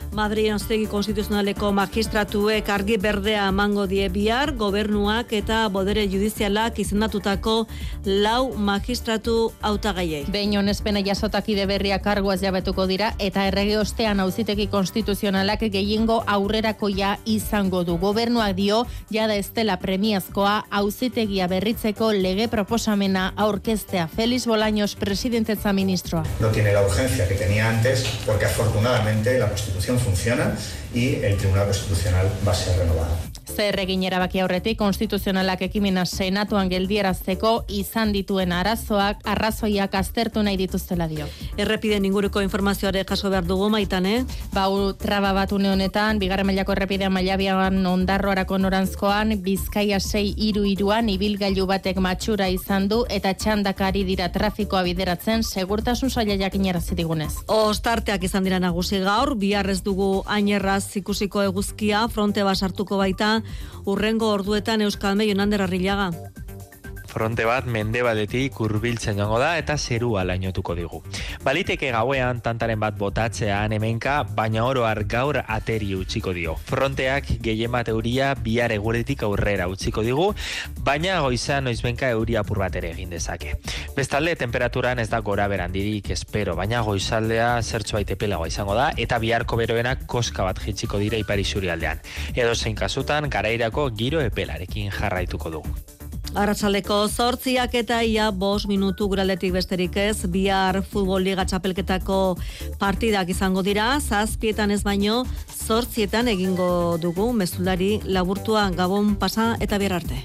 Madrid Auzitegi Konstituzionaleko magistratuek argi berdea emango die bihar gobernuak eta bodere judizialak izendatutako lau magistratu hautagaiei. Behin onespena jasotakide berriak karguaz jabetuko dira eta errege ostean Auzitegi Konstituzionalak gehiengo aurrerakoia izango du. Gobernuak dio jada ez dela premiazkoa Auzitegia berritzeko lege proposamena aurkeztea. Félix Bolaños, presidentetza ministroa. No tiene la urgencia que tenía antes porque afortunadamente la Constitución funciona y el Tribunal Constitucional va a ser renovado. Zer egin erabaki aurretik konstituzionalak ekimena senatuan geldierazteko izan dituen arazoak arrazoiak aztertu nahi dituztela dio. Errepiden inguruko informazioare jaso behar dugu Maitane. Bau traba bat une honetan, bigarren mailako errepidean Mailabian Ondarroarako norantzkoan, Bizkaia sei hiru hiruan ibilgailu batek matxura izan du eta txandakari dira trafikoa bideratzen segurtasun saila jakinarazi digunez. Ostarteak izan dira nagusi gaur, bihar ez dugu ainerraz ikusiko eguzkia, fronte basartuko baita, urrengo orduetan Euskalme Jonander Arrillaga. Fronte bat mendebaldetik hurbiltzen joango da eta zerua lainotuko digu. Baliteke gauean tantaren bat botatzean hemenka, baina oro har gaur ateri utziko dio. Fronteak gehien bat euria bihar eguretik aurrera utziko digu, baina goizan noizbenka euria apur bat ere egin dezake. Bestalde, temperaturan ez da gora berandirik espero, baina goizaldea zertxobait epelagoa izango da eta biharko beroenak koska bat jitziko dira ipar isurialdean. Edo zein kasutan garairako giro epelarekin jarraituko dugu. Arratsaldeko zortziak eta ia bost minutu guraldetik besterik ez, bihar futbol liga txapelketako partidak izango dira, zazpietan ez baino, zortzietan egingo dugu, mezulari laburtua Gabon pasa eta bihar arte.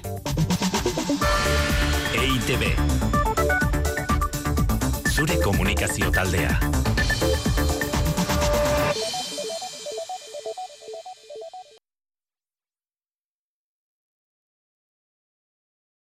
E I T B. Zure komunikazio taldea.